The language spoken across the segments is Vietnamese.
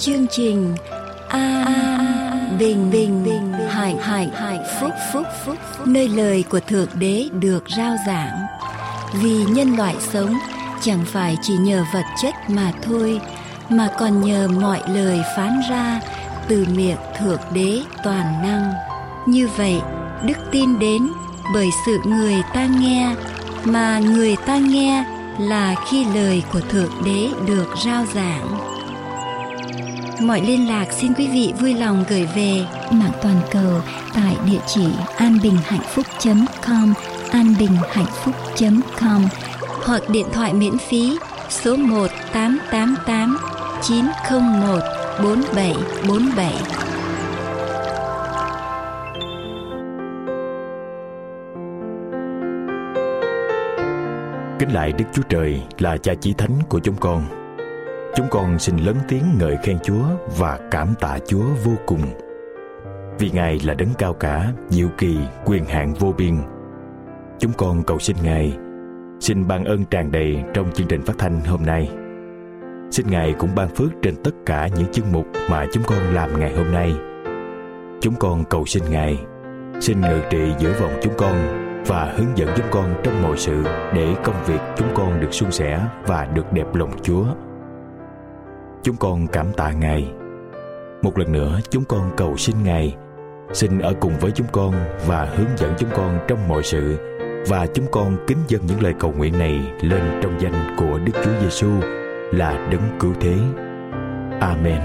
chương trình Bình hạnh phúc, nơi lời của Thượng Đế được rao giảng. Vì nhân loại sống chẳng phải chỉ nhờ vật chất mà thôi, mà còn nhờ mọi lời phán ra từ miệng Thượng Đế toàn năng. Như vậy, đức tin đến bởi sự người ta nghe, mà người ta nghe là khi lời của Thượng Đế được rao giảng. Mọi liên lạc xin quý vị vui lòng gửi về mạng toàn cầu tại địa chỉ anbinhhạnhphúc.com, anbinhhạnhphúc.com, hoặc điện thoại miễn phí số 1-888-901-4747. Kính lạy Đức Chúa Trời là Cha Chí Thánh của chúng con xin lớn tiếng ngợi khen Chúa và cảm tạ Chúa vô cùng. Vì Ngài là đấng cao cả, diệu kỳ, quyền hạn vô biên. Chúng con cầu xin Ngài, xin ban ơn tràn đầy trong chương trình phát thanh hôm nay. Xin Ngài cũng ban phước trên tất cả những chương mục mà chúng con làm ngày hôm nay. Chúng con cầu xin Ngài, xin ngự trị giữa vòng chúng con và hướng dẫn chúng con trong mọi sự, để công việc chúng con được suôn sẻ và được đẹp lòng Chúa. Chúng con cảm tạ Ngài. Một lần nữa chúng con cầu xin Ngài, xin ở cùng với chúng con và hướng dẫn chúng con trong mọi sự, và chúng con kính dâng những lời cầu nguyện này lên trong danh của Đức Chúa Giêsu là đấng cứu thế. Amen.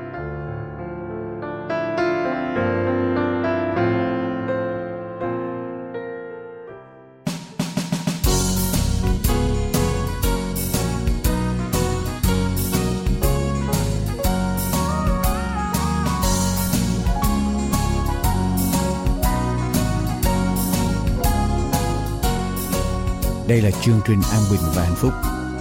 Đây là chương trình An Bình và Hạnh Phúc.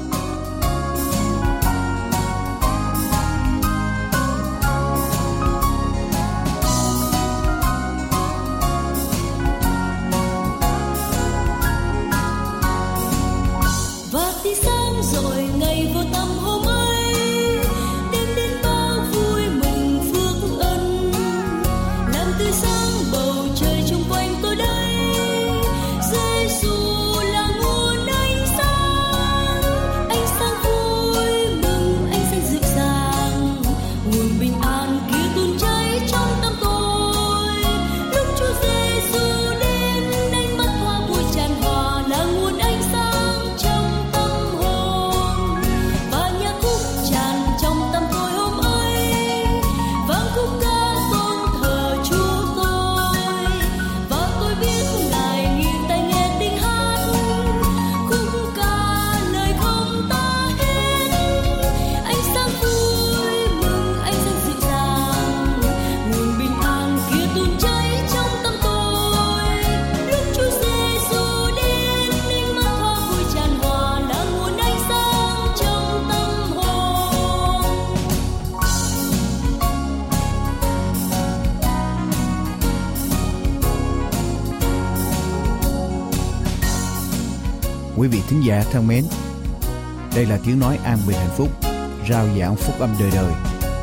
Quý vị thính giả thân mến, đây là tiếng nói An Bình Hạnh Phúc, rao giảng phúc âm đời đời.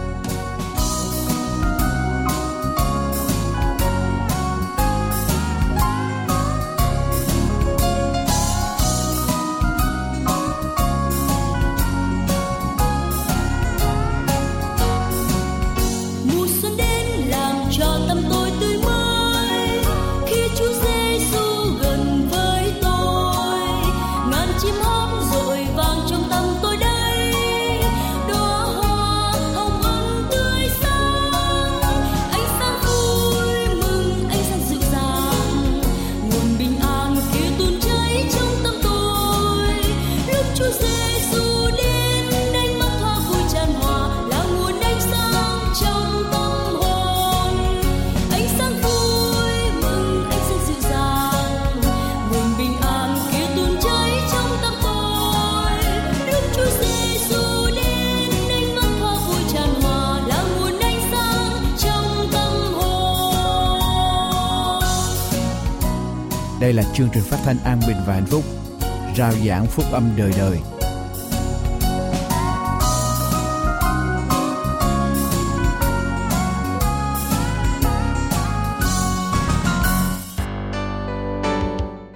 Đây là chương trình phát thanh An Bình và Hạnh Phúc, rao giảng phúc âm đời đời.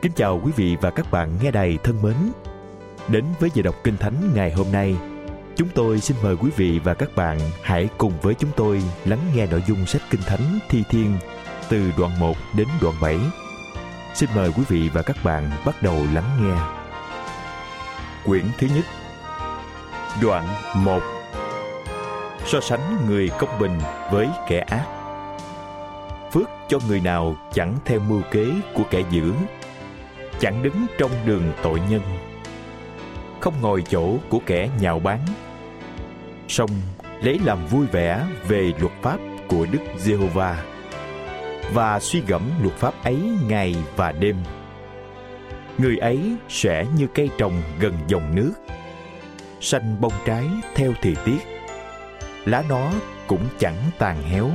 Kính chào quý vị và các bạn nghe đài thân mến. Đến với giờ đọc Kinh Thánh ngày hôm nay, chúng tôi xin mời quý vị và các bạn hãy cùng với chúng tôi lắng nghe nội dung sách Kinh Thánh Thi Thiên từ đoạn 1 đến đoạn 7. Xin mời quý vị và các bạn bắt đầu lắng nghe. Quyển thứ nhất, đoạn 1. So sánh người công bình với kẻ ác. Phước cho người nào chẳng theo mưu kế của kẻ dữ, chẳng đứng trong đường tội nhân, không ngồi chỗ của kẻ nhạo báng, song lấy làm vui vẻ về luật pháp của Đức Giê-hô-va và suy gẫm luật pháp ấy ngày và đêm. Người ấy sẽ như cây trồng gần dòng nước, xanh bông trái theo thời tiết, lá nó cũng chẳng tàn héo.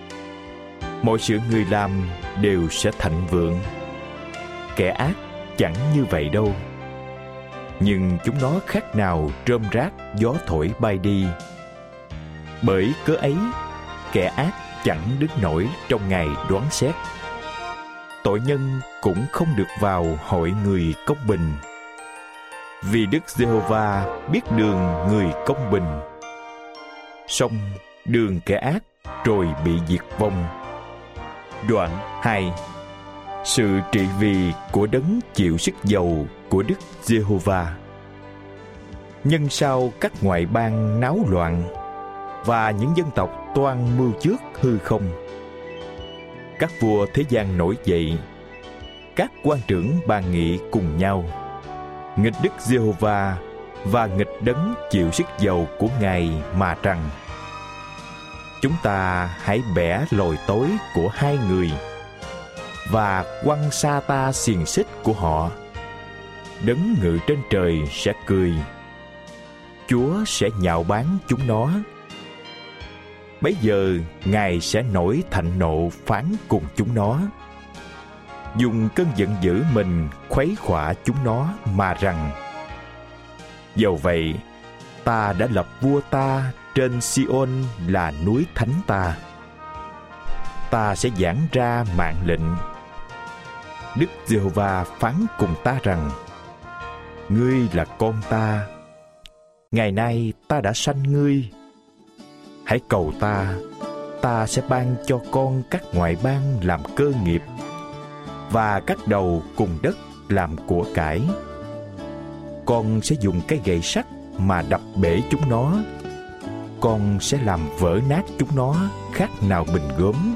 Mọi sự người làm đều sẽ thịnh vượng. Kẻ ác chẳng như vậy đâu, nhưng chúng nó khác nào rơm rác gió thổi bay đi. Bởi cớ ấy, kẻ ác chẳng đứng nổi trong ngày đoán xét. Tội nhân cũng không được vào hội người công bình. Vì Đức Giê-hô-va biết đường người công bình, song đường kẻ ác rồi bị diệt vong. Đoạn 2. Sự trị vì của đấng chịu sức dầu của Đức Giê-hô-va. Nhân sau các ngoại bang náo loạn, và những dân tộc toan mưu trước hư không. Các vua thế gian nổi dậy, các quan trưởng bàn nghị cùng nhau, nghịch Đức Giê-hô-va và nghịch đấng chịu sức dầu của Ngài mà rằng: chúng ta hãy bẻ lồi tối của hai người và quăng xa ta xiềng xích của họ. Đấng ngự trên trời sẽ cười, Chúa sẽ nhạo báng chúng nó. Bấy giờ Ngài sẽ nổi thạnh nộ phán cùng chúng nó, dùng cơn giận dữ mình khuấy khỏa chúng nó mà rằng: dầu vậy, ta đã lập vua ta trên Si-ôn là núi thánh ta. Ta sẽ giảng ra mạng lệnh. Đức Giê-hô-va phán cùng ta rằng: ngươi là con ta, ngày nay ta đã sanh ngươi. Hãy cầu ta, ta sẽ ban cho con các ngoại bang làm cơ nghiệp, và các đầu cùng đất làm của cải. Con sẽ dùng cái gậy sắt mà đập bể chúng nó. Con sẽ làm vỡ nát chúng nó khác nào bình gốm.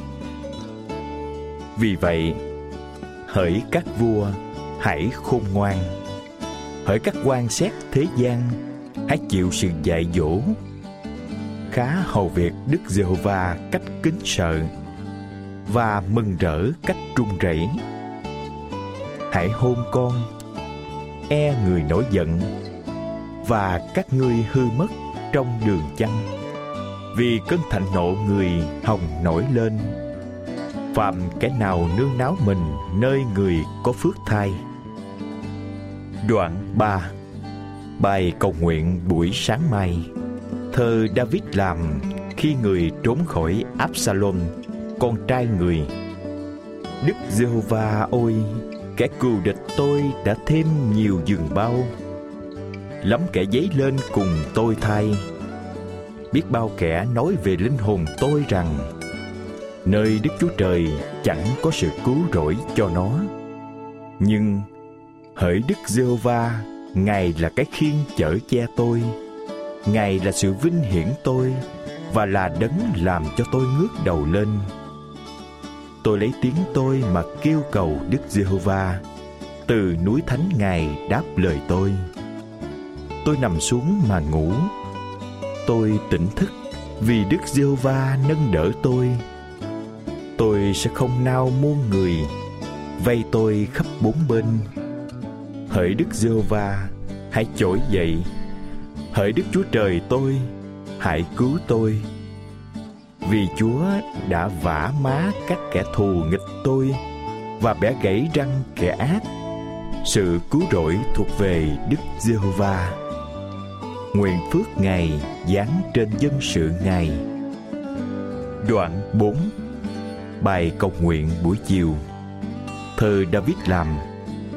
Vì vậy, hỡi các vua, hãy khôn ngoan. Hỡi các quan xét thế gian, hãy chịu sự dạy dỗ. Khá hầu việc Đức Giê-hô-va cách kính sợ, và mừng rỡ cách run rẩy. Hãy hôn con, người nổi giận, và các ngươi hư mất trong đường chăng, vì cơn thạnh nộ người hồng nổi lên. Phàm kẻ nào nương náu mình nơi người có phước thai. Đoạn 3. Bài cầu nguyện buổi sáng mai. Thơ David làm khi người trốn khỏi Absalom, con trai người. Đức Giê-hô-va ôi, kẻ cừu địch tôi đã thêm nhiều giường bao. Lắm kẻ dấy lên cùng tôi thay. Biết bao kẻ nói về linh hồn tôi rằng: nơi Đức Chúa Trời chẳng có sự cứu rỗi cho nó. Nhưng hỡi Đức Giê-hô-va, Ngài là cái khiên chở che tôi. Ngài là sự vinh hiển tôi, và là đấng làm cho tôi ngước đầu lên. Tôi lấy tiếng tôi mà kêu cầu Đức Giê-hô-va, từ núi thánh Ngài đáp lời tôi. Tôi nằm xuống mà ngủ. Tôi tỉnh thức vì Đức Giê-hô-va nâng đỡ tôi. Tôi sẽ không nao muôn người vây tôi khắp bốn bên. Hỡi Đức Giê-hô-va, hãy trỗi dậy. Hỡi Đức Chúa Trời tôi, hãy cứu tôi. Vì Chúa đã vả má các kẻ thù nghịch tôi, và bẻ gãy răng kẻ ác. Sự cứu rỗi thuộc về Đức Giê-hô-va. Nguyện phước Ngài giáng trên dân sự Ngài. Đoạn 4. Bài cầu nguyện buổi chiều. Thơ David làm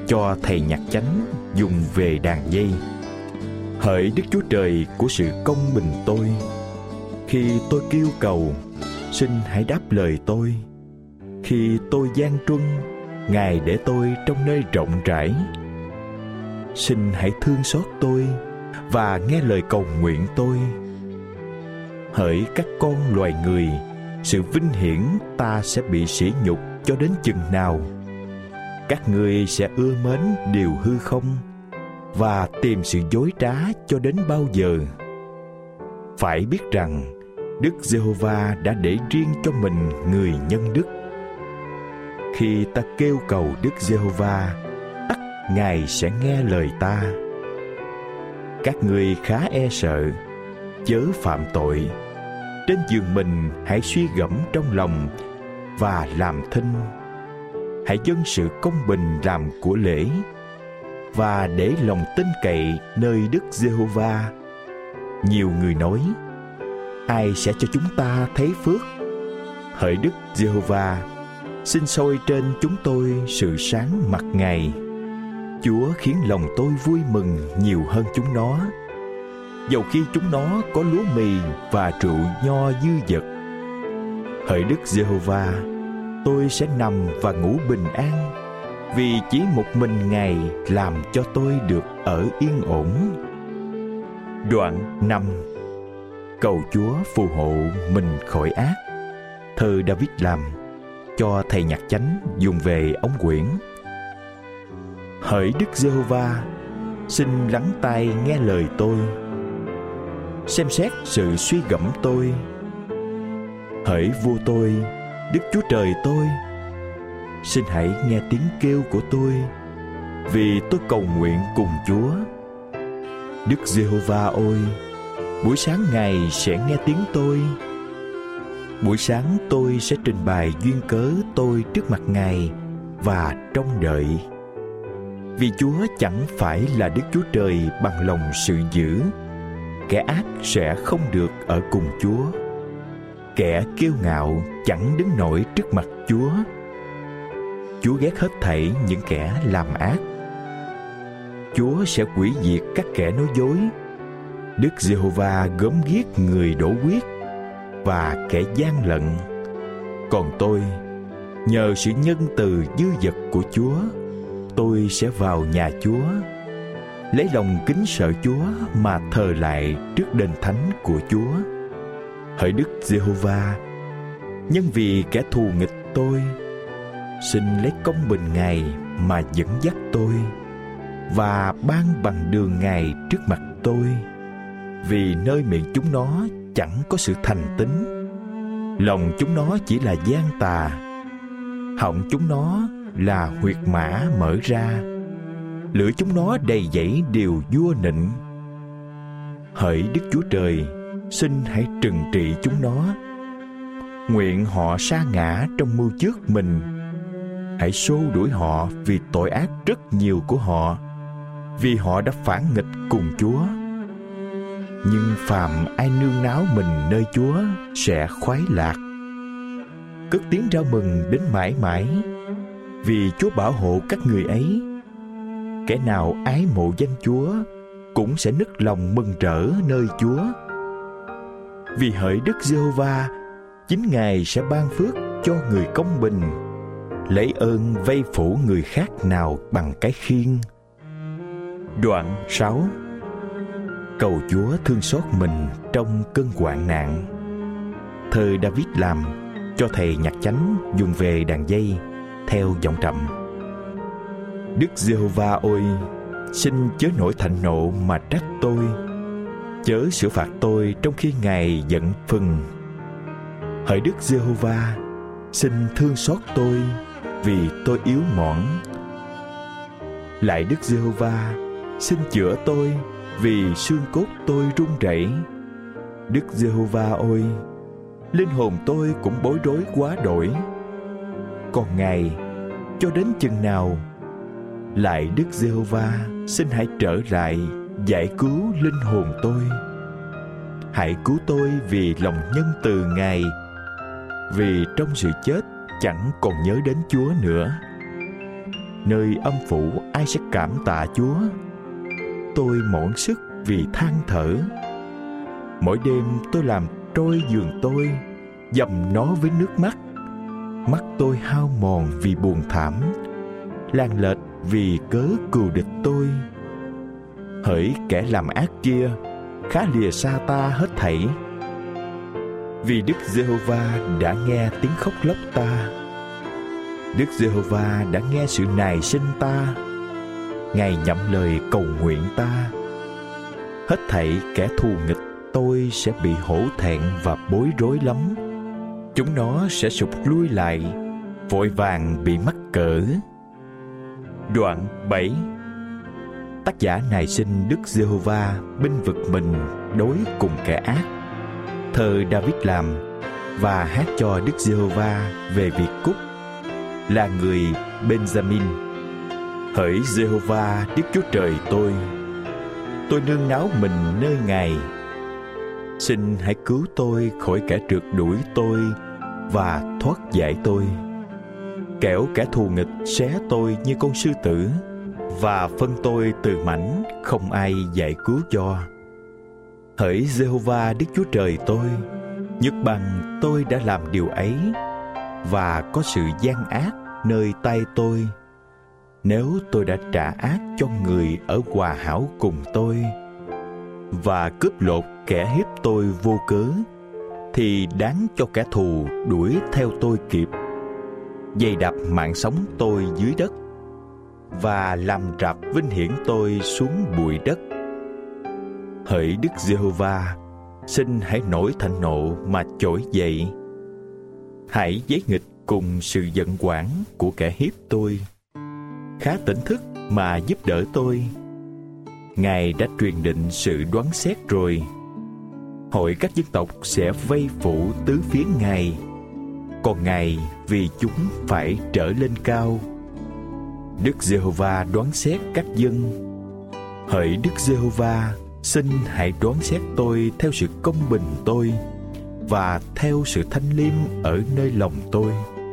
cho thầy nhạc chánh dùng về đàn dây. Hỡi Đức Chúa Trời của sự công bình tôi, khi tôi kêu cầu, xin hãy đáp lời tôi. Khi tôi gian truân, Ngài để tôi trong nơi rộng rãi. Xin hãy thương xót tôi và nghe lời cầu nguyện tôi. Hỡi các con loài người, sự vinh hiển ta sẽ bị sỉ nhục cho đến chừng nào? Các ngươi sẽ ưa mến điều hư không và tìm sự dối trá cho đến bao giờ? Phải biết rằng Đức Giê-hô-va đã để riêng cho mình người nhân đức. Khi ta kêu cầu Đức Giê-hô-va, tất Ngài sẽ nghe lời ta. Các ngươi khá e sợ, chớ phạm tội. Trên giường mình hãy suy gẫm trong lòng và làm thinh. Hãy dâng sự công bình làm của lễ và để lòng tin cậy nơi Đức Giê-hô-va. Nhiều người nói, ai sẽ cho chúng ta thấy phước? Hỡi Đức Giê-hô-va, xin soi trên chúng tôi sự sáng mặt Ngài. Chúa khiến lòng tôi vui mừng nhiều hơn chúng nó, dầu khi chúng nó có lúa mì và rượu nho dư dật. Hỡi Đức Giê-hô-va, tôi sẽ nằm và ngủ bình an, vì chỉ một mình Ngài làm cho tôi được ở yên ổn. Đoạn 5. Cầu Chúa phù hộ mình khỏi ác. Thơ David làm cho thầy nhạc chánh dùng về ống quyển. Hỡi Đức Giê-hô-va, xin lắng tai nghe lời tôi, xem xét sự suy gẫm tôi. Hỡi vua tôi, Đức Chúa Trời tôi, xin hãy nghe tiếng kêu của tôi, vì tôi cầu nguyện cùng Chúa. Đức Giê-hô-va ơi, buổi sáng Ngài sẽ nghe tiếng tôi. Buổi sáng tôi sẽ trình bày duyên cớ tôi trước mặt Ngài và trông đợi. Vì Chúa chẳng phải là Đức Chúa Trời bằng lòng sự dữ, kẻ ác sẽ không được ở cùng Chúa. Kẻ kiêu ngạo chẳng đứng nổi trước mặt Chúa. Chúa ghét hết thảy những kẻ làm ác. Chúa sẽ hủy diệt các kẻ nói dối. Đức Giê-hô-va gớm ghiếc người đổ huyết và kẻ gian lận. Còn tôi, nhờ sự nhân từ dư dật của Chúa, tôi sẽ vào nhà Chúa, lấy lòng kính sợ Chúa mà thờ lại trước đền thánh của Chúa. Hỡi Đức Giê-hô-va, nhân vì kẻ thù nghịch tôi, xin lấy công bình Ngài mà dẫn dắt tôi, và ban bằng đường Ngài trước mặt tôi. Vì nơi miệng chúng nó chẳng có sự thành tín, lòng chúng nó chỉ là gian tà, họng chúng nó là huyệt mã mở ra, lưỡi chúng nó đầy dẫy điều vua nịnh. Hỡi Đức Chúa Trời, xin hãy trừng trị chúng nó. Nguyện họ sa ngã trong mưu trước mình. Hãy xô đuổi họ vì tội ác rất nhiều của họ, vì họ đã phản nghịch cùng Chúa. Nhưng phàm ai nương náu mình nơi Chúa sẽ khoái lạc. Cất tiếng rao mừng đến mãi mãi, vì Chúa bảo hộ các người ấy. Kẻ nào ái mộ danh Chúa cũng sẽ nức lòng mừng rỡ nơi Chúa. Vì hỡi Đức Giê-hô-va, chính Ngài sẽ ban phước cho người công bình, lấy ơn vây phủ người khác nào bằng cái khiên. Đoạn 6. Cầu Chúa thương xót mình trong cơn hoạn nạn. Thơ David làm cho thầy nhạc chánh dùng về đàn dây theo giọng trầm. Đức Giê-hô-va ơi, xin chớ nổi thạnh nộ mà trách tôi, chớ xử phạt tôi trong khi Ngài giận phừng. Hỡi Đức Giê-hô-va, xin thương xót tôi, vì tôi yếu mỏn. Lại Đức Giê-hô-va, xin chữa tôi, vì xương cốt tôi run rẩy. Đức Giê-hô-va ơi, linh hồn tôi cũng bối rối quá đổi. Còn Ngài, cho đến chừng nào? Lại Đức Giê-hô-va, xin hãy trở lại giải cứu linh hồn tôi. Hãy cứu tôi vì lòng nhân từ Ngài, vì trong sự chết chẳng còn nhớ đến Chúa nữa. nơi âm phủ ai sẽ cảm tạ Chúa? Tôi mỏi sức vì than thở. Mỗi đêm tôi làm trôi giường tôi, dầm nó với nước mắt. Mắt tôi hao mòn vì buồn thảm, làng lệch vì cớ cừu địch tôi. Hỡi kẻ làm ác kia, khá lìa xa ta hết thảy. Vì Đức Giê-hô-va đã nghe tiếng khóc lóc ta. Đức Giê-hô-va đã nghe sự nài xin ta. Ngài nhậm lời cầu nguyện ta. Hết thảy kẻ thù nghịch tôi sẽ bị hổ thẹn và bối rối lắm. Chúng nó sẽ sụp lui lại, vội vàng bị mắc cỡ. Đoạn 7. Tác giả nài xin Đức Giê-hô-va bênh vực mình đối cùng kẻ ác. Thơ David làm và hát cho Đức Giê-hô-va về việc cúc, là người Benjamin. Hỡi Giê-hô-va Đức Chúa Trời tôi nương náu mình nơi Ngài. Xin hãy cứu tôi khỏi kẻ trượt đuổi tôi và thoát giải tôi. Kẻo kẻ thù nghịch xé tôi như con sư tử, và phân tôi từ mảnh không ai giải cứu cho. Hỡi Giê-hô-va Đức Chúa Trời nhất bằng tôi đã làm điều ấy, và có sự gian ác nơi tay tôi. Nếu tôi đã trả ác cho người ở hòa hảo cùng tôi, và cướp lột kẻ hiếp tôi vô cớ, thì đáng cho kẻ thù đuổi theo tôi kịp, dày đạp mạng sống tôi dưới đất, và làm rạp vinh hiển tôi xuống bụi đất. Hỡi Đức Giê-hô-va, xin hãy nổi thạnh nộ mà trỗi dậy. Hãy giấy nghịch cùng sự giận oản của kẻ hiếp tôi. Khá tỉnh thức mà giúp đỡ tôi. Ngài đã truyền định sự đoán xét rồi. Hội các dân tộc sẽ vây phủ tứ phía Ngài, còn Ngài vì chúng phải trở lên cao. Đức Giê-hô-va đoán xét các dân. Hỡi Đức Giê-hô-va, xin hãy đoán xét tôi theo sự công bình tôi, và theo sự thanh liêm ở nơi lòng tôi.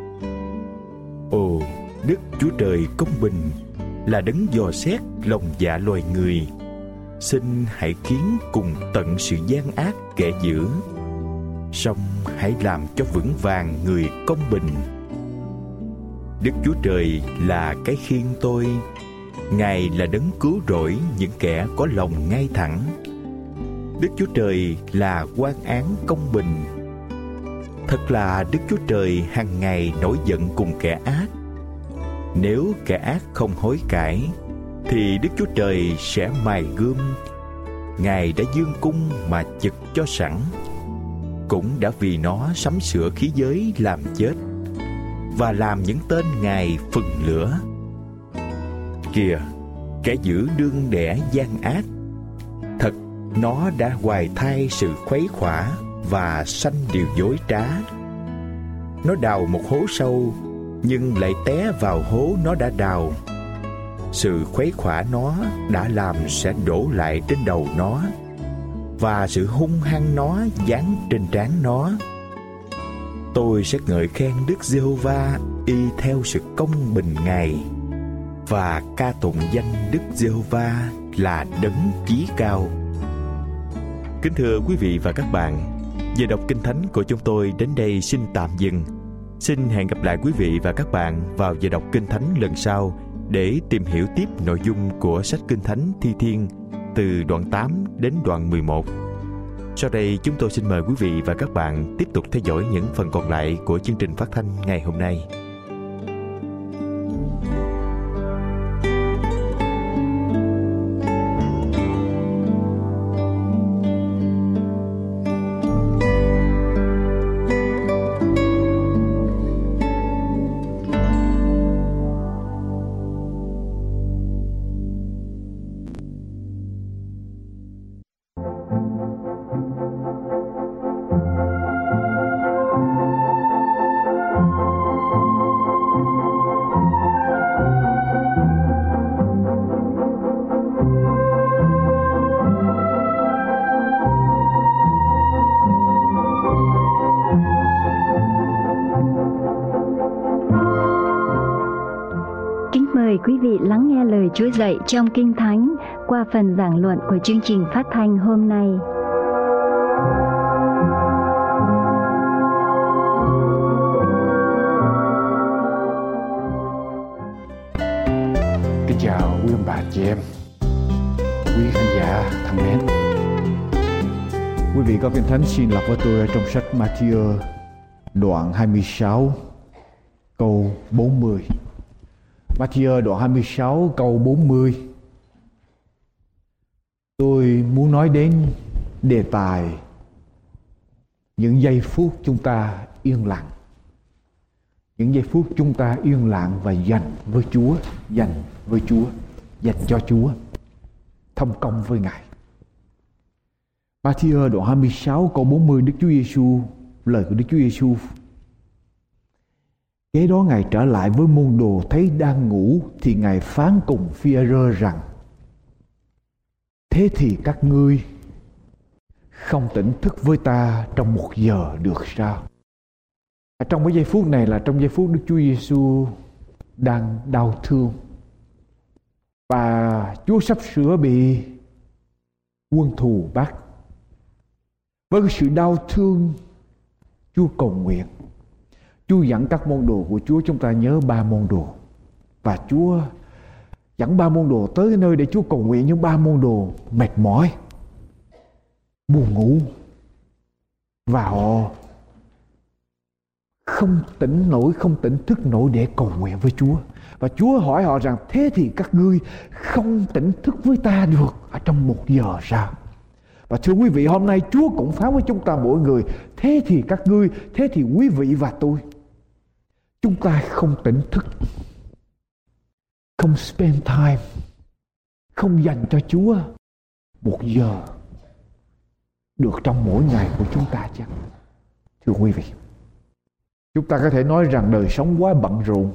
Ồ, Đức Chúa Trời công bình là đấng dò xét lòng dạ loài người. Xin hãy khiến cùng tận sự gian ác kẻ dữ, song hãy làm cho vững vàng người công bình. Đức Chúa Trời là cái khiên tôi. Ngài là đấng cứu rỗi những kẻ có lòng ngay thẳng. Đức Chúa Trời là quan án công bình. Thật là Đức Chúa Trời hàng ngày nổi giận cùng kẻ ác. Nếu kẻ ác không hối cải, thì Đức Chúa Trời sẽ mài gươm. Ngài đã dương cung mà chực cho sẵn, cũng đã vì nó sắm sửa khí giới làm chết, và làm những tên Ngài phừng lửa. Kìa, kẻ dữ đương đẻ gian ác. Thật, nó đã hoài thai sự khuấy khỏa và sanh điều dối trá. Nó đào một hố sâu, nhưng lại té vào hố nó đã đào. Sự khuấy khỏa nó đã làm sẽ đổ lại trên đầu nó, và sự hung hăng nó giáng trên trán nó. Tôi sẽ ngợi khen Đức Giê-hô-va y theo sự công bình Ngài, và ca tụng danh Đức Giê-hô-va là đấng chí cao. Kính thưa quý vị và các bạn, giờ đọc Kinh Thánh của chúng tôi đến đây xin tạm dừng. Xin hẹn gặp lại quý vị và các bạn vào giờ đọc Kinh Thánh lần sau để tìm hiểu tiếp nội dung của sách Kinh Thánh Thi Thiên từ đoạn 8 đến đoạn 11. Sau đây chúng tôi xin mời quý vị và các bạn tiếp tục theo dõi những phần còn lại của chương trình phát thanh ngày hôm nay. mời quý vị lắng nghe lời Chúa dạy trong Kinh Thánh qua phần giảng luận của chương trình phát thanh hôm nay. Kính chào quý ông bà chị em, quý khán giả thân mến. Quý vị có Kinh Thánh xin đọc với tôi ở trong sách Ma-thi-ơ đoạn 26 câu 40. Ma-thi-ơ đoạn 26 câu 40. Tôi muốn nói đến đề tài những giây phút chúng ta yên lặng. Những giây phút chúng ta yên lặng và dành với Chúa, dành cho Chúa, thông công với Ngài. Ma-thi-ơ đoạn 26 câu 40, Đức Chúa Giêsu, lời của Đức Chúa Giêsu. Kế đó Ngài trở lại với môn đồ thấy đang ngủ, thì Ngài phán cùng Phi-e-rơ rằng: thế thì các ngươi không tỉnh thức với ta trong 1 giờ được sao? Trong cái giây phút này là trong giây phút Đức Chúa Giêsu đang đau thương và Chúa sắp sửa bị quân thù bắt. Với cái sự đau thương, Chúa cầu nguyện. Chúa dẫn các môn đồ của Chúa, chúng ta nhớ 3 môn đồ, và Chúa dẫn 3 môn đồ tới cái nơi để Chúa cầu nguyện. Nhưng 3 môn đồ mệt mỏi, buồn ngủ, và họ không tỉnh thức nổi để cầu nguyện với Chúa. Và Chúa hỏi họ rằng: thế thì các ngươi không tỉnh thức với ta được ở trong 1 giờ sao? Và thưa quý vị, hôm nay Chúa cũng phán với chúng ta mỗi người: thế thì các ngươi, thế thì quý vị và tôi, chúng ta không tỉnh thức, không spend time, không dành cho Chúa 1 giờ được trong mỗi ngày của chúng ta chăng? Thưa quý vị, chúng ta có thể nói rằng đời sống quá bận rộn.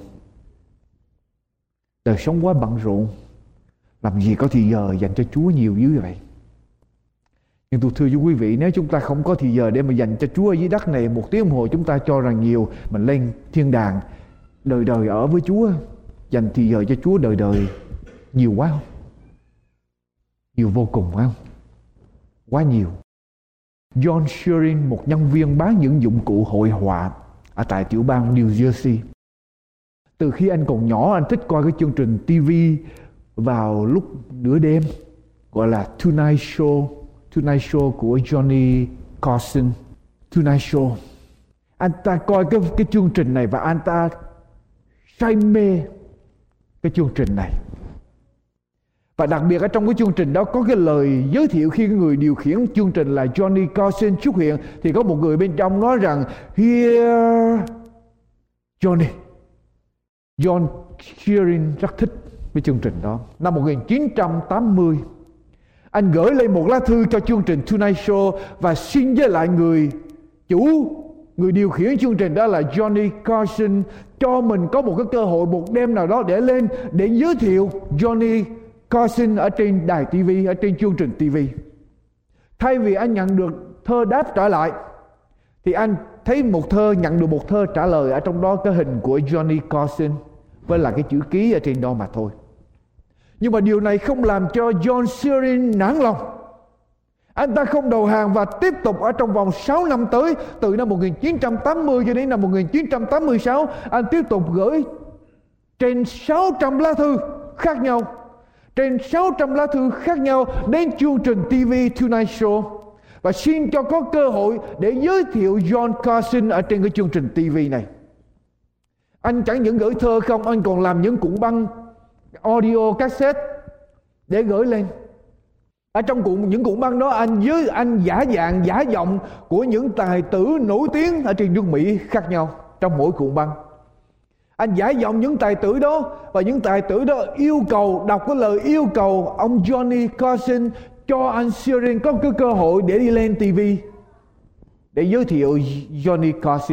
Đời sống quá bận rộn, làm gì có thì giờ dành cho Chúa nhiều như vậy. Nhưng tôi thưa với quý vị, nếu chúng ta không có thì giờ để mà dành cho Chúa ở dưới đất này 1 tiếng đồng hồ, chúng ta cho rằng nhiều, mình lên thiên đàng đời đời ở với Chúa, dành thì giờ cho Chúa đời đời nhiều quá không? Nhiều vô cùng phải không? Quá nhiều. John Shearing, một nhân viên bán những dụng cụ hội họa ở tại tiểu bang New Jersey, từ khi anh còn nhỏ, anh thích coi cái chương trình TV vào lúc nửa đêm gọi là Tonight Show của Johnny Carson. Tonight Show. Anh ta coi cái chương trình này và anh ta say mê cái chương trình này. Và đặc biệt ở trong cái chương trình đó có cái lời giới thiệu khi người điều khiển chương trình là Johnny Carson xuất hiện, thì có một người bên trong nói rằng: Here Johnny. John Shearing rất thích cái chương trình đó. Năm 1980, anh gửi lên một lá thư cho chương trình Tonight Show và xin với lại người điều khiển chương trình đó là Johnny Carson cho mình có một cái cơ hội một đêm nào đó để lên để giới thiệu Johnny Carson ở trên đài TV, ở trên chương trình TV. Thay vì anh nhận được thơ đáp trả lại, thì anh thấy nhận được một thơ trả lời, ở trong đó cái hình của Johnny Carson với là cái chữ ký ở trên đó mà thôi. Nhưng mà điều này không làm cho John Shearing nản lòng. Anh ta không đầu hàng và tiếp tục ở trong vòng 6 năm tới, từ năm 1980 cho đến năm 1986, anh tiếp tục gửi trên 600 lá thư khác nhau, đến chương trình TV Tonight Show, và xin cho có cơ hội để giới thiệu John Carson ở trên cái chương trình TV này. Anh chẳng những gửi thơ không, anh còn làm những cuộn băng audio cassette để gửi lên. Ở trong những cuộn băng đó, anh giả giọng của những tài tử nổi tiếng ở trên nước Mỹ khác nhau trong mỗi cuộn băng. Anh giả giọng những tài tử đó, và những tài tử đó đọc cái lời yêu cầu ông Johnny Carson cho anh Shearing có cái cơ hội để đi lên TV để giới thiệu Johnny Carson.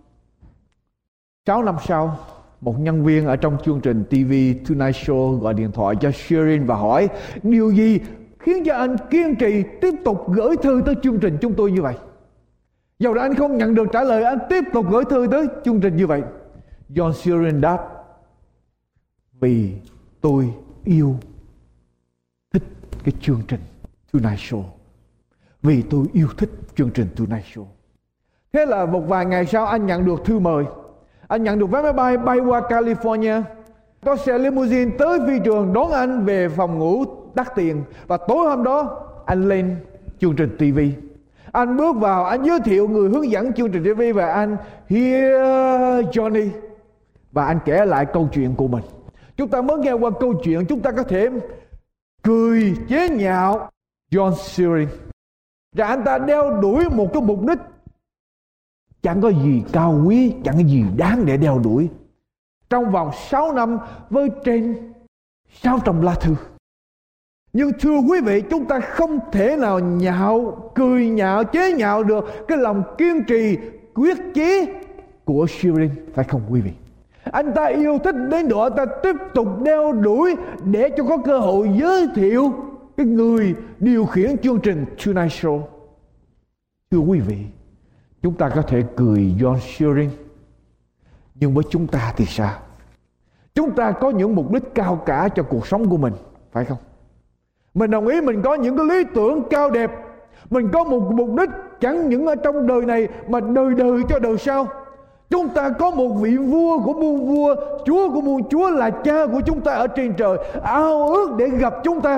6 năm sau, một nhân viên ở trong chương trình TV Tonight Show gọi điện thoại cho Shearing và hỏi: điều gì khiến cho anh kiên trì tiếp tục gửi thư tới chương trình chúng tôi như vậy? Dầu là anh không nhận được trả lời, anh tiếp tục gửi thư tới chương trình như vậy. John Shearing đáp: Vì tôi yêu thích cái chương trình Tonight Show. Vì tôi yêu thích chương trình Tonight Show. Thế là một vài ngày sau anh nhận được thư mời. Anh nhận được vé máy bay bay qua California. Có xe limousine tới phi trường đón anh về phòng ngủ đắt tiền. Và tối hôm đó anh lên chương trình TV. Anh bước vào, anh giới thiệu người hướng dẫn chương trình TV và anh Here Johnny. Và anh kể lại câu chuyện của mình. Chúng ta mới nghe qua câu chuyện, chúng ta có thể cười chế nhạo John Shearing. Và anh ta đeo đuổi một cái mục đích chẳng có gì cao quý, chẳng có gì đáng để đeo đuổi. Trong vòng 6 năm với trên 600 lá thư. Nhưng thưa quý vị, chúng ta không thể nào cười nhạo, chế nhạo được cái lòng kiên trì, quyết chí của Shearing, phải không quý vị? Anh ta yêu thích đến độ anh ta tiếp tục đeo đuổi để cho có cơ hội giới thiệu cái người điều khiển chương trình Tonight Show. Thưa quý vị, chúng ta có thể cười John Shearing, nhưng với chúng ta thì sao? Chúng ta có những mục đích cao cả cho cuộc sống của mình, phải không? Mình đồng ý mình có những cái lý tưởng cao đẹp. Mình có một mục đích chẳng những ở trong đời này mà đời đời cho đời sau. Chúng ta có một vị vua của muôn vua, Chúa của muôn chúa là cha của chúng ta ở trên trời, ao ước để gặp chúng ta.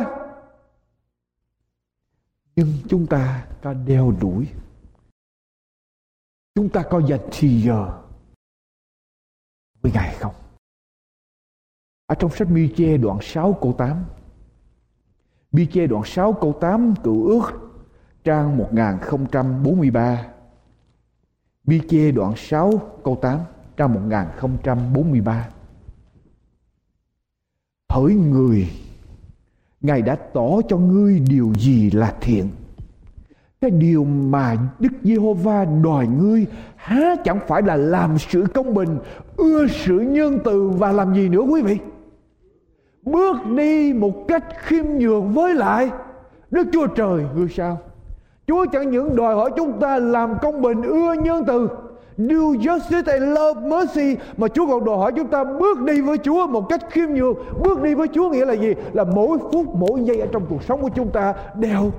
Nhưng chúng ta có đeo đuổi, chúng ta có dành thì giờ với Ngài không? Ở trong sách Mi-chê đoạn 6 câu 8, Mi-chê đoạn 6 câu 8 Cựu Ước trang 1043. Mi-chê đoạn 6 câu 8 trang 1043. Hỡi người, Ngài đã tỏ cho ngươi điều gì là thiện. Cái điều mà Đức Giê-hô-va đòi ngươi há chẳng phải là làm sự công bình, ưa sự nhân từ và làm gì nữa quý vị? Bước đi một cách khiêm nhường với lại Đức Chúa Trời ngươi sao? Chúa chẳng những đòi hỏi chúng ta làm công bình, ưa nhân từ, do justice and love mercy, mà Chúa còn đòi hỏi chúng ta bước đi với Chúa một cách khiêm nhường. Bước đi với Chúa nghĩa là gì? Là mỗi phút, mỗi giây ở trong cuộc sống của chúng ta đều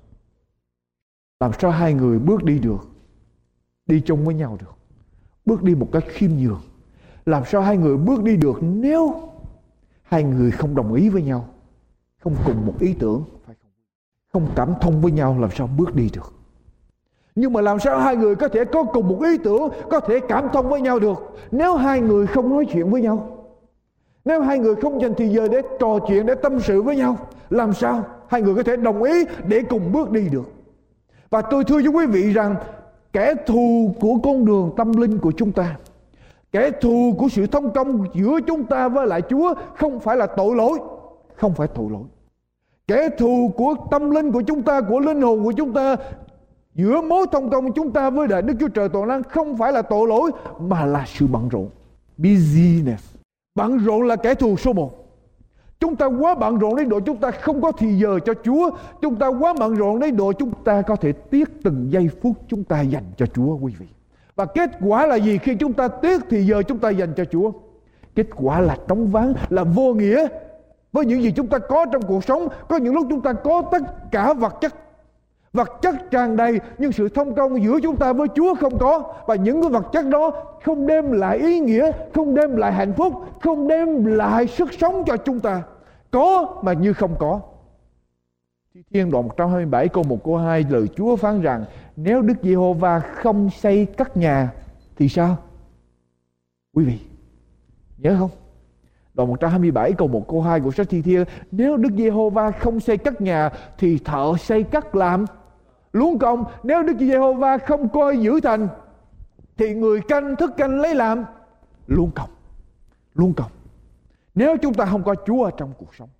làm sao hai người bước đi được, đi chung với nhau được, bước đi một cách khiêm nhường. Làm sao hai người bước đi được nếu hai người không đồng ý với nhau, không cùng một ý tưởng, không cảm thông với nhau, làm sao bước đi được? Nhưng mà làm sao hai người có thể có cùng một ý tưởng, có thể cảm thông với nhau được nếu hai người không nói chuyện với nhau, nếu hai người không dành thời giờ để trò chuyện, để tâm sự với nhau? Làm sao hai người có thể đồng ý để cùng bước đi được? Và tôi thưa với quý vị rằng kẻ thù của con đường tâm linh của chúng ta, kẻ thù của sự thông công giữa chúng ta với lại Chúa không phải là tội lỗi, không phải tội lỗi. Kẻ thù của tâm linh của chúng ta, của linh hồn của chúng ta, giữa mối thông công chúng ta với lại Đức Chúa Trời toàn năng không phải là tội lỗi, mà là sự bận rộn. Busyness. Bận rộn là kẻ thù số 1. Chúng ta quá bận rộn đến độ chúng ta không có thì giờ cho Chúa. Chúng ta quá bận rộn đến độ chúng ta có thể tiếc từng giây phút chúng ta dành cho Chúa quý vị. Và kết quả là gì khi chúng ta tiếc thì giờ chúng ta dành cho Chúa? Kết quả là trống vắng, là vô nghĩa với những gì chúng ta có trong cuộc sống. Có những lúc chúng ta có tất cả vật chất tràn đầy, nhưng sự thông công giữa chúng ta với Chúa không có. Và những cái vật chất đó không đem lại ý nghĩa, không đem lại hạnh phúc, không đem lại sức sống cho chúng ta. Có mà như không có. Thi Thiên đoạn 127 câu 1 câu 2, lời Chúa phán rằng nếu Đức Giê-hô-va không xây cất nhà thì sao? Quý vị nhớ không? Đoạn 127 câu 1 câu 2 của sách Thi Thiên, nếu Đức Giê-hô-va không xây cất nhà thì thợ xây cất làm luống công. Nếu Đức Giê-hô-va không coi giữ thành thì người canh thức canh lấy làm luống công. Nếu chúng ta không có Chúa ở trong cuộc sống,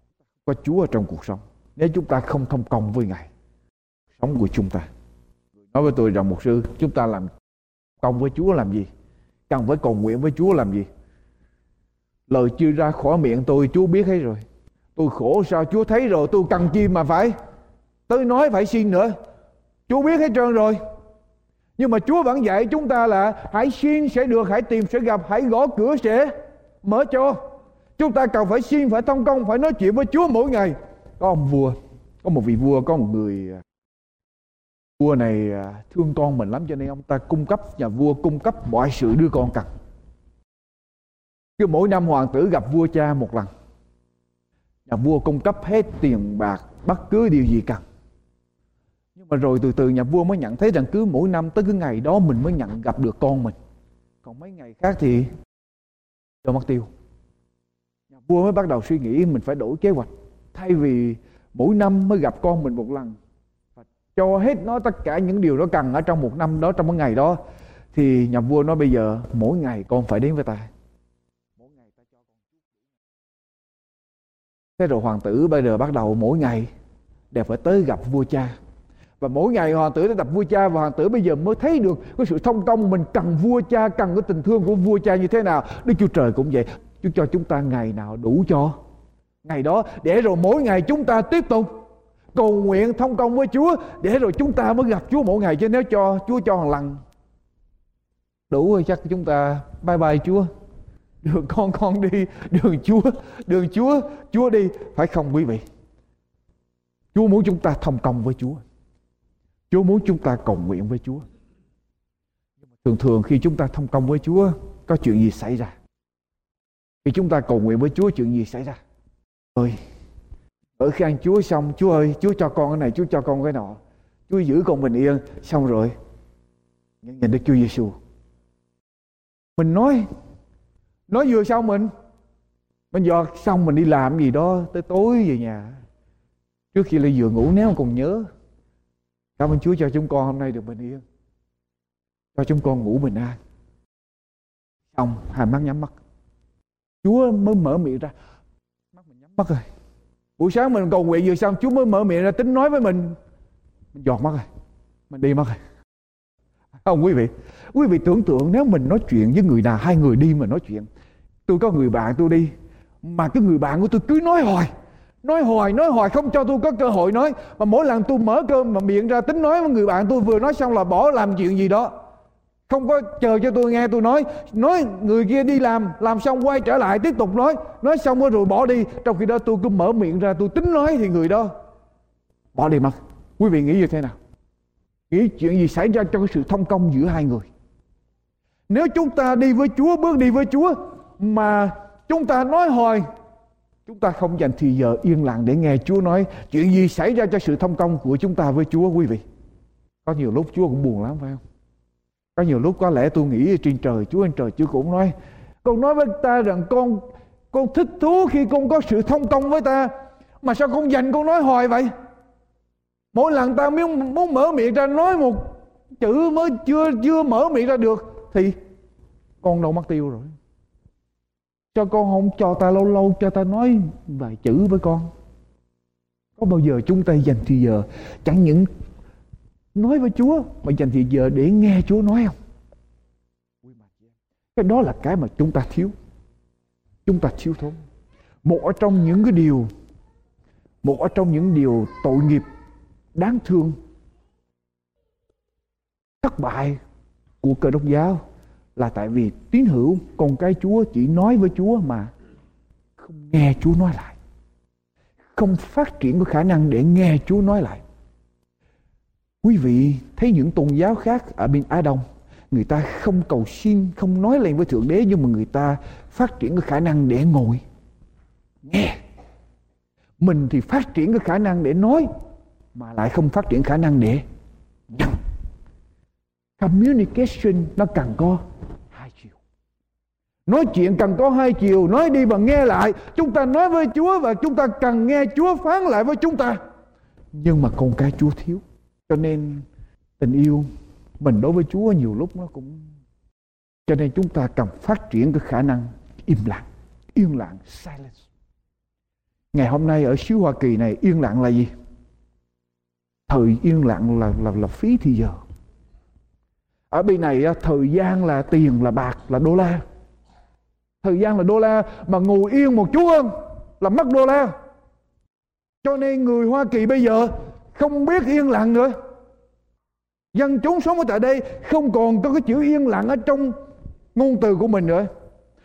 nếu chúng ta không thông công với Ngài, sống của chúng ta. Nói với tôi rằng mục sư, chúng ta làm công với Chúa làm gì? Cần phải cầu nguyện với Chúa làm gì? Lời chưa ra khỏi miệng tôi, Chúa biết hết rồi. Tôi khổ sao Chúa thấy rồi, tôi cần chi mà phải tới nói phải xin nữa. Chúa biết hết trơn rồi. Nhưng mà Chúa vẫn dạy chúng ta là hãy xin sẽ được, hãy tìm sẽ gặp, hãy gõ cửa sẽ mở cho. Chúng ta cần phải xin, phải thông công, phải nói chuyện với Chúa mỗi ngày. Có ông vua, có một vị vua, có một người vua này thương con mình lắm, cho nên ông ta nhà vua cung cấp mọi sự đứa con cần. Cứ mỗi năm hoàng tử gặp vua cha một lần, nhà vua cung cấp hết tiền bạc, bất cứ điều gì cần. Nhưng mà rồi từ từ nhà vua mới nhận thấy rằng cứ mỗi năm tới cái ngày đó mình mới gặp được con mình, còn mấy ngày khác thì cho mất tiêu. Nhà vua mới bắt đầu suy nghĩ mình phải đổi kế hoạch. Thay vì mỗi năm mới gặp con mình một lần, cho hết nó tất cả những điều nó cần ở trong một năm đó, trong một ngày đó, thì nhà vua nói bây giờ mỗi ngày con phải đến với ta. Mỗi ngày ta cho con. Thế rồi hoàng tử bây giờ bắt đầu mỗi ngày đều phải tới gặp vua cha. Và mỗi ngày hoàng tử đã gặp vua cha, và hoàng tử bây giờ mới thấy được cái sự thông công mình cần vua cha, cần cái tình thương của vua cha như thế nào. Đức Chúa Trời cũng vậy, Chúa cho chúng ta ngày nào đủ cho ngày đó, để rồi mỗi ngày chúng ta tiếp tục cầu nguyện thông công với Chúa, để rồi chúng ta mới gặp Chúa mỗi ngày. Chứ nếu cho Chúa cho một lần đủ rồi, chắc chúng ta bye bye Chúa, đường con đi, đường Chúa đi, phải không quý vị? Chúa muốn chúng ta thông công với Chúa, Chúa muốn chúng ta cầu nguyện với Chúa. Thường khi chúng ta thông công với Chúa, có chuyện gì xảy ra? Khi chúng ta cầu nguyện với Chúa, chuyện gì xảy ra? Ơi, ở khi ăn Chúa xong, Chúa ơi, Chúa cho con cái này, Chúa cho con cái nọ, Chúa giữ con bình yên. Xong rồi nhìn Đức Chúa Giêsu, mình nói vừa xong mình giọt xong, mình đi làm gì đó tới tối về nhà, trước khi lên giường ngủ nếu còn nhớ, cảm ơn Chúa cho chúng con hôm nay được bình yên, cho chúng con ngủ bình an. Xong hai mắt nhắm mắt, Chúa mới mở miệng ra, mắt mình nhắm mắt rồi. Buổi sáng mình cầu nguyện vừa xong, Chúa mới mở miệng ra tính nói với mình giọt mắt rồi, mình đi mất rồi. Không quý vị tưởng tượng nếu mình nói chuyện với người nào, hai người đi mà nói chuyện. Tôi có người bạn tôi đi, mà cái người bạn của tôi cứ nói hoài không cho tôi có cơ hội nói. Mà mỗi lần tôi mở cơm mà miệng ra tính nói với người bạn tôi, vừa nói xong là bỏ làm chuyện gì đó, không có chờ cho tôi nghe tôi nói người kia đi làm xong quay trở lại tiếp tục nói xong rồi bỏ đi. Trong khi đó tôi cứ mở miệng ra tôi tính nói thì người đó bỏ đi mất. Quý vị nghĩ như thế nào? Nghĩ chuyện gì xảy ra cho cái sự thông công giữa hai người? Nếu chúng ta đi với Chúa, bước đi với Chúa mà chúng ta nói hoài, chúng ta không dành thì giờ yên lặng để nghe Chúa nói, chuyện gì xảy ra cho sự thông công của chúng ta với Chúa quý vị? Có nhiều lúc Chúa cũng buồn lắm phải không? Có nhiều lúc có lẽ tôi nghĩ trên trời Chúa cũng nói, con nói với ta rằng con thích thú khi con có sự thông công với ta, mà sao con dành con nói hoài vậy? Mỗi lần ta muốn mở miệng ra nói một chữ mới chưa mở miệng ra được thì con đâu mất tiêu rồi. Cho con không cho ta lâu cho ta nói vài chữ với con. Có bao giờ chúng ta dành thì giờ chẳng những nói với Chúa mà dành thì giờ để nghe Chúa nói không? Cái đó là cái mà chúng ta thiếu. Chúng ta thiếu thốn. Một ở trong những điều tội nghiệp đáng thương, thất bại của Cơ Đốc giáo là tại vì tín hữu con cái Chúa chỉ nói với Chúa mà không nghe Chúa nói lại, không phát triển cái khả năng để nghe Chúa nói lại. Quý vị thấy những tôn giáo khác ở bên Á Đông, người ta không cầu xin, không nói lên với Thượng Đế, nhưng mà người ta phát triển cái khả năng để ngồi nghe. Mình thì phát triển cái khả năng để nói mà lại không phát triển khả năng để nhận. Communication nó cần có hai chiều. Nói chuyện cần có hai chiều, nói đi và nghe lại. Chúng ta nói với Chúa và chúng ta cần nghe Chúa phán lại với chúng ta. Nhưng mà con cái Chúa thiếu. Cho nên tình yêu mình đối với Chúa nhiều lúc nó cũng... Cho nên chúng ta cần phát triển cái khả năng yên lặng, silence. Ngày hôm nay ở xứ Hoa Kỳ này, yên lặng là gì? Thời yên lặng là phí thì giờ. Ở bên này thời gian là tiền, là bạc, là đô la. Thời gian là đô la, mà ngồi yên một chút hơn là mất đô la. Cho nên người Hoa Kỳ bây giờ không biết yên lặng nữa. Dân chúng sống ở tại đây không còn có cái chữ yên lặng ở trong ngôn từ của mình nữa.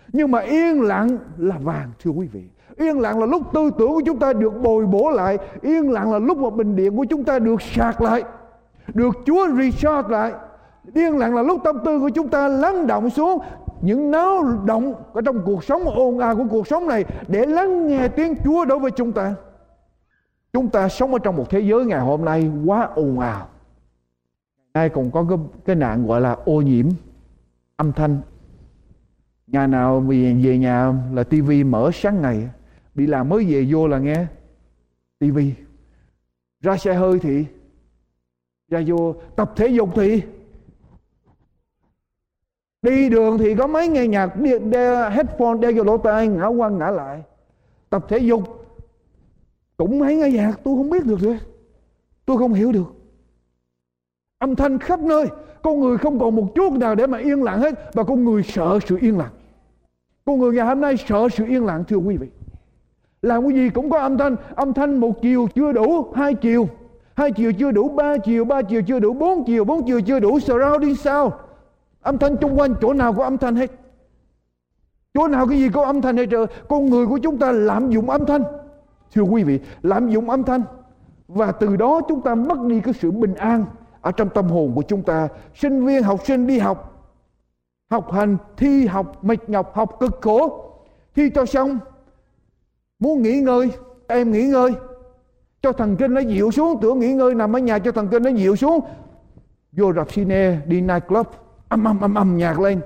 Nhưng mà yên lặng là vàng, thưa quý vị. Yên lặng là lúc tư tưởng của chúng ta được bồi bổ lại. Yên lặng là lúc mà bình điện của chúng ta được sạc lại, được Chúa recharge lại. Yên lặng là lúc tâm tư của chúng ta lắng động xuống những náo động ở trong cuộc sống ồn ào của cuộc sống này, để lắng nghe tiếng Chúa đối với chúng ta. Chúng ta sống ở trong một thế giới ngày hôm nay quá ồn ào. Ai còn có cái nạn gọi là ô nhiễm âm thanh. Nhà nào về nhà là tivi mở sáng ngày, đi làm mới về vô là nghe tivi. Ra xe hơi thì ra vô, tập thể dục thì đi đường thì có mấy nghe nhạc, đeo headphone đeo vô lỗ tai, ngã qua ngã lại. Tập thể dục cũng mấy nghe nhạc, tôi không biết được rồi, tôi không hiểu được. Âm thanh khắp nơi, con người không còn một chút nào để mà yên lặng hết, và con người sợ sự yên lặng. Con người ngày hôm nay sợ sự yên lặng, thưa quý vị. Làm cái gì cũng có âm thanh một chiều chưa đủ, hai chiều chưa đủ, ba chiều chưa đủ, bốn chiều chưa đủ, surrounding sound. Âm thanh xung quanh, chỗ nào có âm thanh hết. Chỗ nào cái gì có âm thanh hết trời. Con người của chúng ta lạm dụng âm thanh, thưa quý vị, lạm dụng âm thanh. Và từ đó chúng ta mất đi cái sự bình an ở trong tâm hồn của chúng ta. Sinh viên, học sinh đi học, học hành, thi học mệt nhọc, học cực khổ, thi cho xong muốn nghỉ ngơi, em nghỉ ngơi, cho thần kinh nó dịu xuống. Tưởng nghỉ ngơi nằm ở nhà cho thần kinh nó dịu xuống, vô rạp cine, đi night club, âm nhạc lên,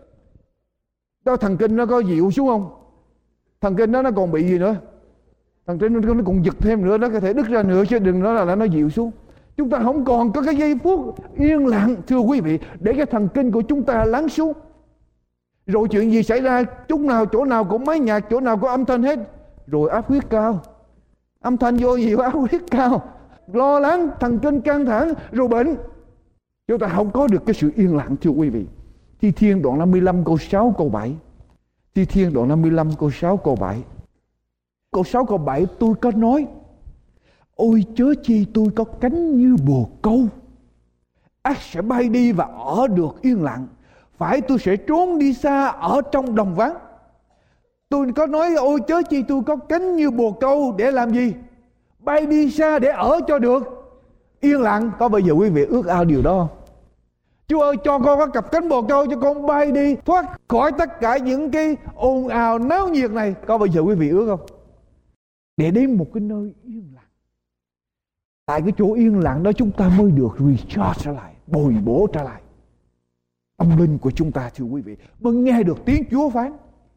đó thần kinh nó có dịu xuống không? Thần kinh nó còn bị gì nữa? Thần kinh nó còn giật thêm nữa, nó có thể đứt ra nữa, chứ đừng nói là nó dịu xuống. Chúng ta không còn có cái giây phút yên lặng, thưa quý vị, để cái thần kinh của chúng ta lắng xuống. Rồi chuyện gì xảy ra, chỗ nào cũng máy nhạc, chỗ nào có âm thanh hết. Rồi áp huyết cao, âm thanh vô nhiều áp huyết cao, lo lắng, thần kinh căng thẳng, rồi bệnh. Chúng ta không có được cái sự yên lặng, thưa quý vị. Thi Thiên đoạn 55 câu 6 câu 7. Thi Thiên đoạn 55 câu 6 câu 7. Câu 6 câu 7 tôi có nói: ôi chớ chi tôi có cánh như bồ câu, ắt sẽ bay đi và ở được yên lặng, phải tôi sẽ trốn đi xa ở trong đồng vắng. Tôi có nói ôi chớ chi tôi có cánh như bồ câu để làm gì? Bay đi xa để ở cho được yên lặng. Có bao giờ quý vị ước ao điều đó không? Chúa ơi, cho con có cặp cánh bồ câu, cho con bay đi thoát khỏi tất cả những cái ồn ào náo nhiệt này. Có bao giờ quý vị ước không? Để đến một cái nơi yên lặng. Tại cái chỗ yên lặng đó chúng ta mới được recharge trở lại, bồi bổ trở lại tâm linh của chúng ta, thưa quý vị, mới nghe được tiếng Chúa phán.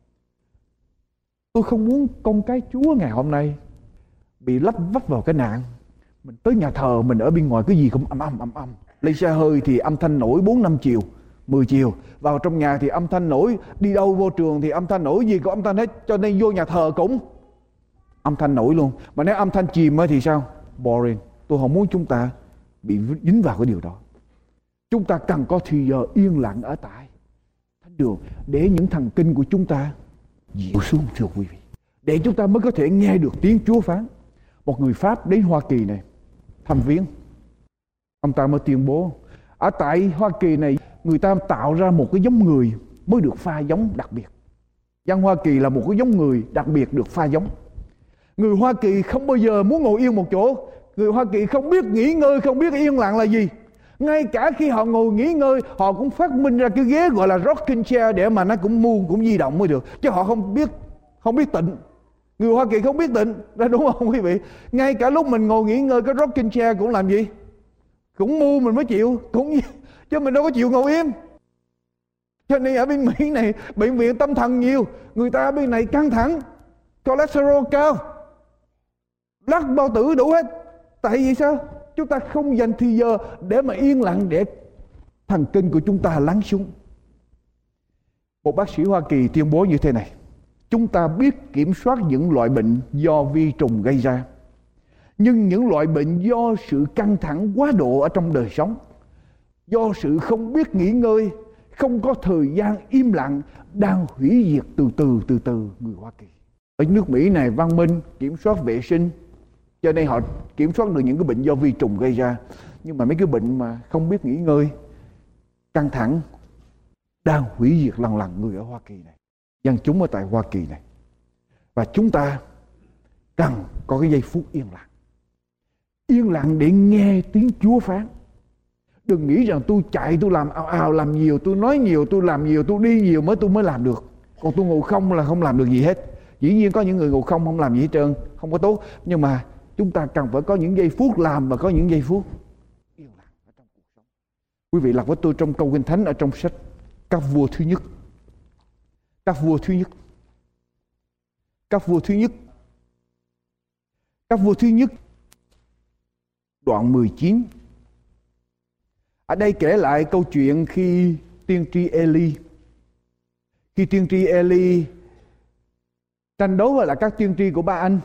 Tôi không muốn con cái Chúa ngày hôm nay bị lấp vấp vào cái nạn. Mình tới nhà thờ, mình ở bên ngoài cái gì cũng âm. Lên xe hơi thì âm thanh nổi 4-5 chiều, 10 chiều. Vào trong nhà thì âm thanh nổi, đi đâu vô trường thì âm thanh nổi, gì có âm thanh hết. Cho nên vô nhà thờ cũng âm thanh nổi luôn. Mà nếu âm thanh chìm thì sao? Boring. Tôi không muốn chúng ta bị dính vào cái điều đó. Chúng ta cần có thì giờ yên lặng ở tại thánh đường để những thần kinh của chúng ta dịu xuống, thưa quý vị, để chúng ta mới có thể nghe được tiếng Chúa phán. Một người Pháp đến Hoa Kỳ này thăm viếng, ông ta mới tuyên bố ở tại Hoa Kỳ này người ta tạo ra một cái giống người mới được pha giống đặc biệt. Dân Hoa Kỳ là một cái giống người đặc biệt được pha giống. Người Hoa Kỳ không bao giờ muốn ngồi yên một chỗ. Người Hoa Kỳ không biết nghỉ ngơi, không biết yên lặng là gì. Ngay cả khi họ ngồi nghỉ ngơi, họ cũng phát minh ra cái ghế gọi là rocking chair để mà nó cũng di động mới được. Chứ họ không biết tịnh. Người Hoa Kỳ không biết tịnh, đúng không quý vị? Ngay cả lúc mình ngồi nghỉ ngơi, cái rocking chair cũng làm gì? Cũng mu mình mới chịu, chứ mình đâu có chịu ngồi im. Cho nên ở bên Mỹ này bệnh viện tâm thần nhiều, người ta ở bên này căng thẳng, cholesterol cao, lắc bao tử đủ hết. Tại vì sao? Chúng ta không dành thời giờ để mà yên lặng, để thần kinh của chúng ta lắng xuống. Một bác sĩ Hoa Kỳ tuyên bố như thế này: chúng ta biết kiểm soát những loại bệnh do vi trùng gây ra, nhưng những loại bệnh do sự căng thẳng quá độ ở trong đời sống, do sự không biết nghỉ ngơi, không có thời gian im lặng, đang hủy diệt từ từ người Hoa Kỳ. Ở nước Mỹ này văn minh, kiểm soát vệ sinh, cho nên họ kiểm soát được những cái bệnh do vi trùng gây ra. Nhưng mà mấy cái bệnh mà không biết nghỉ ngơi, căng thẳng, đang hủy diệt lần người ở Hoa Kỳ này. dân chúng ở tại Hoa Kỳ này. Và chúng ta cần có cái giây phút yên lặng. Yên lặng để nghe tiếng Chúa phán. Đừng nghĩ rằng tôi chạy, tôi làm ào ào, làm nhiều, tôi nói nhiều, tôi làm nhiều, tôi đi nhiều tôi mới làm được. Còn tôi ngồi không là không làm được gì hết. Dĩ nhiên có những người ngồi không làm gì hết trơn, không có tốt. Nhưng mà chúng ta cần phải có những giây phút làm và có những giây phút yên lặng ở trong cuộc sống. Quý vị đọc với tôi trong câu Kinh Thánh ở trong sách Các Vua thứ nhất. Các Vua thứ nhất. Các Vua thứ nhất. Các Vua thứ nhất đoạn 19. Ở đây kể lại câu chuyện khi tiên tri Eli. Khi tiên tri Eli tranh đấu với lại các tiên tri của Ba Anh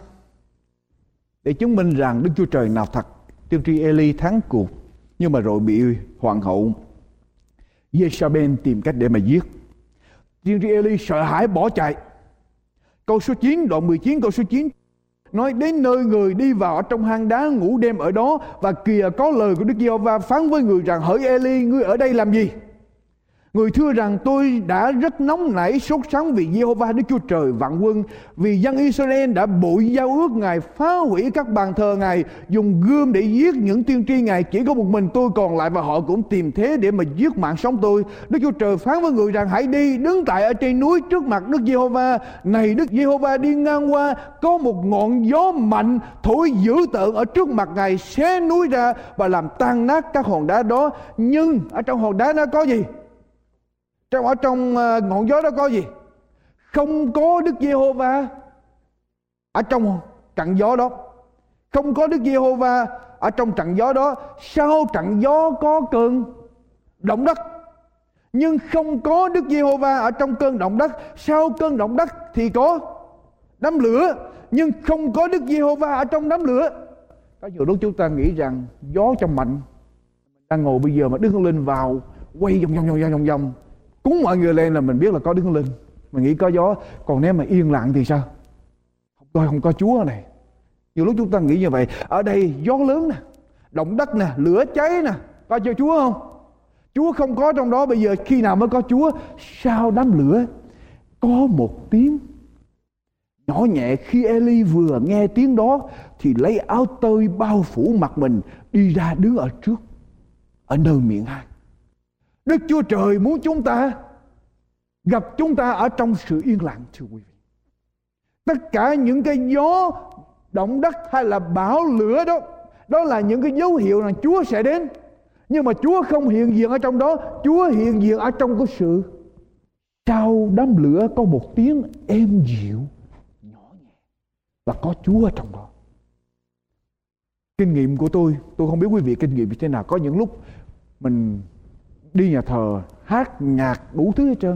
để chứng minh rằng Đức Chúa Trời nào thật. Tiên tri Eli thắng cuộc, nhưng mà rồi bị hoàng hậu Jezabel tìm cách để mà giết. Tiên tri Eli sợ hãi bỏ chạy. Câu số 9, đoạn 19 câu số 9 nói: đến nơi người đi vào ở trong hang đá ngủ đêm ở đó, và kìa có lời của Đức Giê-hô-va phán với người rằng: hỡi Eli, ngươi ở đây làm gì? Người thưa rằng: tôi đã rất nóng nảy sốt sắng vì Giê-hô-va Đức Chúa Trời vạn quân, vì dân Israel đã bội giao ước Ngài, phá hủy các bàn thờ Ngài, dùng gươm để giết những tiên tri Ngài. Chỉ có một mình tôi còn lại, và họ cũng tìm thế để mà giết mạng sống tôi. Đức Chúa Trời phán với người rằng: hãy đi, đứng tại ở trên núi trước mặt Đức Giê-hô-va. Này, Đức Giê-hô-va đi ngang qua, có một ngọn gió mạnh thổi dữ tợn ở trước mặt Ngài, xé núi ra và làm tan nát các hòn đá đó. Nhưng ở trong hòn đá đó có gì? Ở trong ngọn gió đó có gì? Không có Đức Giê-hô-va ở trong trận gió đó. Không có Đức Giê-hô-va ở trong trận gió đó. Sau trận gió có cơn động đất, nhưng không có Đức Giê-hô-va ở trong cơn động đất. Sau cơn động đất thì có đám lửa, nhưng không có Đức Giê-hô-va ở trong đám lửa. Có nhiều lúc chúng ta nghĩ rằng gió trong mạnh, đang ngồi bây giờ mà Đức Thánh Linh vào quay vòng cúng mọi người lên là mình biết là có Đức Thánh Linh, mình nghĩ có gió. Còn nếu mà yên lặng thì sao? Không có Chúa này. Nhiều lúc chúng ta nghĩ như vậy. Ở đây gió lớn nè, động đất nè, lửa cháy nè, có cho Chúa không? Chúa không có trong đó. Bây giờ khi nào mới có Chúa? Sau đám lửa có một tiếng nhỏ nhẹ. Khi Eli vừa nghe tiếng đó thì lấy áo tơi bao phủ mặt mình, đi ra đứng ở trước, ở nơi miệng hang. Đức Chúa Trời muốn chúng ta gặp chúng ta ở trong sự yên lặng, thưa quý vị. Tất cả những cái gió động đất hay là bão lửa đó, đó là những cái dấu hiệu rằng Chúa sẽ đến. Nhưng mà Chúa không hiện diện ở trong đó. Chúa hiện diện ở trong cái sự sau đám lửa có một tiếng êm dịu nhỏ nhẹ, và có Chúa ở trong đó. Kinh nghiệm của tôi không biết quý vị kinh nghiệm như thế nào. Có những lúc mình đi nhà thờ hát nhạc đủ thứ hết trơn,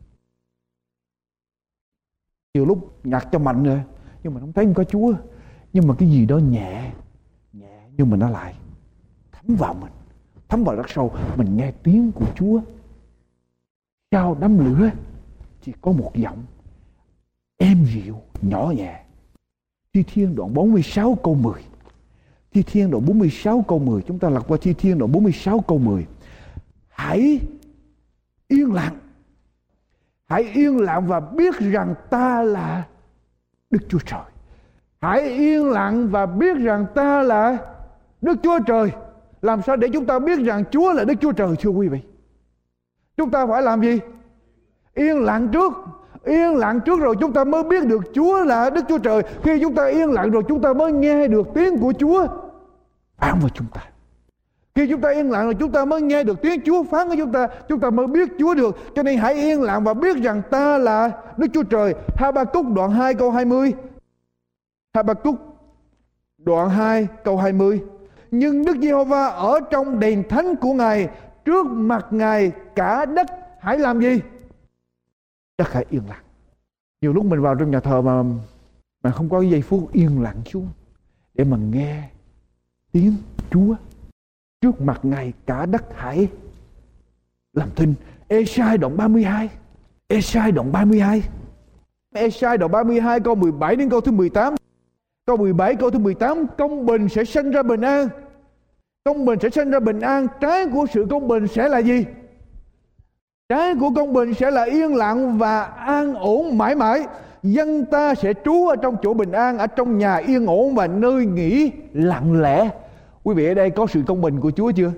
nhiều lúc nhạc cho mạnh rồi nhưng mà không thấy không có Chúa. Nhưng mà cái gì đó nhẹ nhưng mà nó lại thấm vào mình, thấm vào rất sâu. Mình nghe tiếng của Chúa. Sau đám lửa chỉ có một giọng êm dịu nhỏ nhẹ. Thi Thiên đoạn 46 câu 10. Thi Thiên đoạn 46 câu 10. Chúng ta lật qua Thi Thiên đoạn 46 câu 10. Hãy yên lặng. Hãy yên lặng và biết rằng ta là Đức Chúa Trời. Hãy yên lặng và biết rằng ta là Đức Chúa Trời. Làm sao để chúng ta biết rằng Chúa là Đức Chúa Trời, thưa quý vị? Chúng ta phải làm gì? Yên lặng trước. Yên lặng trước rồi chúng ta mới biết được Chúa là Đức Chúa Trời. Khi chúng ta yên lặng rồi chúng ta mới nghe được tiếng của Chúa phán với chúng ta. Khi chúng ta yên lặng rồi chúng ta mới nghe được tiếng Chúa phán với chúng ta mới biết Chúa được. Cho nên hãy yên lặng và biết rằng ta là Đức Chúa Trời. Ha-ba-cúc đoạn 2 câu 20. Ha-ba-cúc đoạn 2 câu 20. Nhưng Đức Giê-hô-va ở trong đền thánh của Ngài, trước mặt Ngài cả đất hãy làm gì? Đất hãy yên lặng. Nhiều lúc mình vào trong nhà thờ mà không có giây phút yên lặng xuống để mà nghe tiếng Chúa. Trước mặt Ngài cả đất hãy làm thinh. Ê-sai đoạn 32. Ê-sai đoạn 32. Ê-sai đoạn 32 câu 17 đến câu thứ 18. Câu 17 câu thứ 18. Công bình sẽ sanh ra bình an. Công bình sẽ sanh ra bình an. Trái của sự công bình sẽ là gì? Trái của công bình sẽ là yên lặng và an ổn mãi mãi. Dân ta sẽ trú ở trong chỗ bình an, ở trong nhà yên ổn và nơi nghỉ lặng lẽ. Quý vị ở đây có sự công bình của Chúa chưa?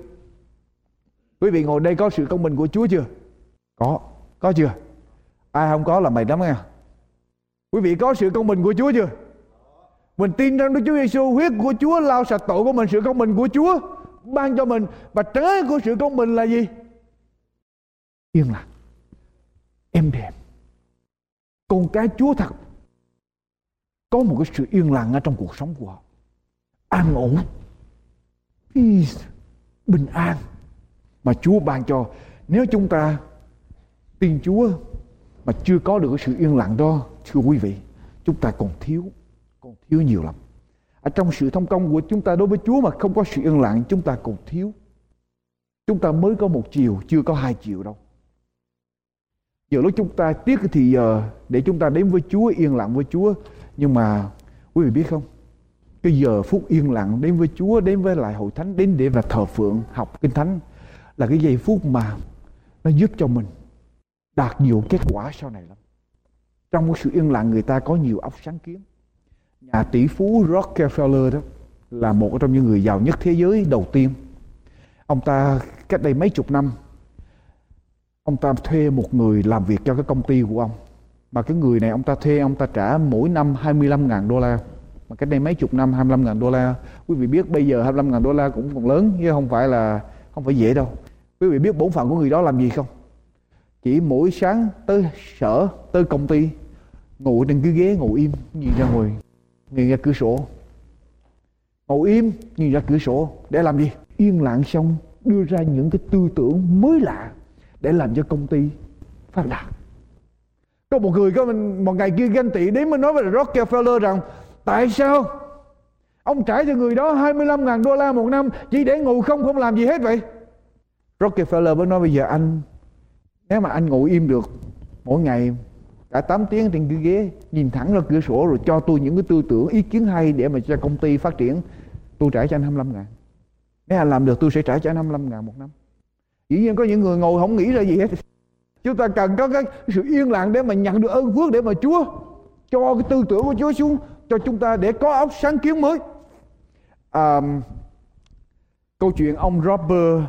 Quý vị ngồi đây có sự công bình của Chúa chưa? Có chưa? Ai không có là mày lắm nha. Quý vị có sự công bình của Chúa chưa? Mình tin rằng Đức Chúa Giêsu, huyết của Chúa lau sạch tội của mình, sự công bình của Chúa ban cho mình. Và trái của sự công bình là gì? Yên lặng, êm đềm. Con cái Chúa thật có một cái sự yên lặng ở trong cuộc sống của họ, an ổn, peace, bình an mà Chúa ban cho. Nếu chúng ta tin Chúa mà chưa có được cái sự yên lặng đó, thưa quý vị, chúng ta còn thiếu nhiều lắm. Ở trong sự thông công của chúng ta đối với Chúa mà không có sự yên lặng, chúng ta còn thiếu. Chúng ta mới có một chiều, chưa có hai chiều đâu. Giờ lúc chúng ta tiếc cái thì giờ để chúng ta đến với Chúa, yên lặng với Chúa. Nhưng mà quý vị biết không, cái giờ phút yên lặng đến với Chúa, đến với lại hội thánh, đến để là thờ phượng, học kinh thánh, là cái giây phút mà nó giúp cho mình đạt nhiều kết quả sau này lắm. Trong cái sự yên lặng, người ta có nhiều óc sáng kiến. Nhà tỷ phú Rockefeller đó là một trong những người giàu nhất thế giới đầu tiên. Ông ta cách đây mấy chục năm, ông ta thuê một người làm việc cho cái công ty của ông. Mà cái người này ông ta thuê, ông ta trả mỗi năm $25,000. Mà cách đây mấy chục năm $25,000. Quý vị biết bây giờ $25,000 cũng còn lớn, chứ không phải dễ đâu. Quý vị biết bổn phận của người đó làm gì không? Chỉ mỗi sáng tới sở, tới công ty, ngồi trên cái ghế ngồi im, nhìn ra cửa sổ. Ngồi im, nhìn ra cửa sổ để làm gì? Yên lặng xong đưa ra những cái tư tưởng mới lạ để làm cho công ty phát đạt. Có một người một ngày kia ganh tị đến mới nói với Rockefeller rằng tại sao ông trả cho người đó $25,000 một năm chỉ để ngồi không làm gì hết vậy? Rockefeller mới nói bây giờ nếu mà anh ngồi im được mỗi ngày cả 8 tiếng trên cái ghế, nhìn thẳng ra cửa sổ rồi cho tôi những cái tư tưởng, ý kiến hay để mà cho công ty phát triển, tôi trả cho anh $25,000. Nếu anh làm được tôi sẽ trả cho anh $25,000 một năm. Dĩ nhiên có những người ngồi không nghĩ ra gì hết. Chúng ta cần có cái sự yên lặng để mà nhận được ơn phước, để mà Chúa cho cái tư tưởng của Chúa xuống cho chúng ta để có óc sáng kiến mới. Câu chuyện ông Robert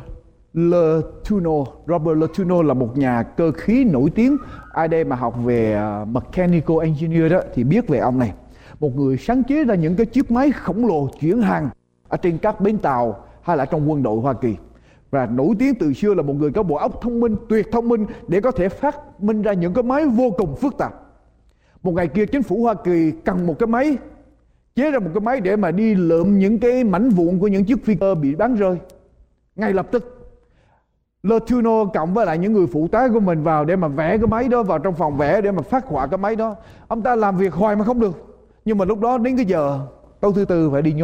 Letourneau là một nhà cơ khí nổi tiếng. Ai đây mà học về mechanical engineer đó thì biết về ông này. Một người sáng chế ra những cái chiếc máy khổng lồ chuyển hàng ở trên các bến tàu hay là trong quân đội Hoa Kỳ. Và nổi tiếng từ xưa là một người có bộ óc thông minh, tuyệt thông minh để có thể phát minh ra những cái máy vô cùng phức tạp. Một ngày kia chính phủ Hoa Kỳ cần một cái máy, chế ra một cái máy để mà đi lượm những cái mảnh vụn của những chiếc phi cơ bị bắn rơi. Ngay lập tức Letourneau cộng với lại những người phụ tá của mình vào để mà vẽ cái máy đó, vào trong phòng vẽ để mà phát họa cái máy đó. Ông ta làm việc hoài mà không được. Nhưng mà lúc đó đến cái giờ tối thứ tư phải đi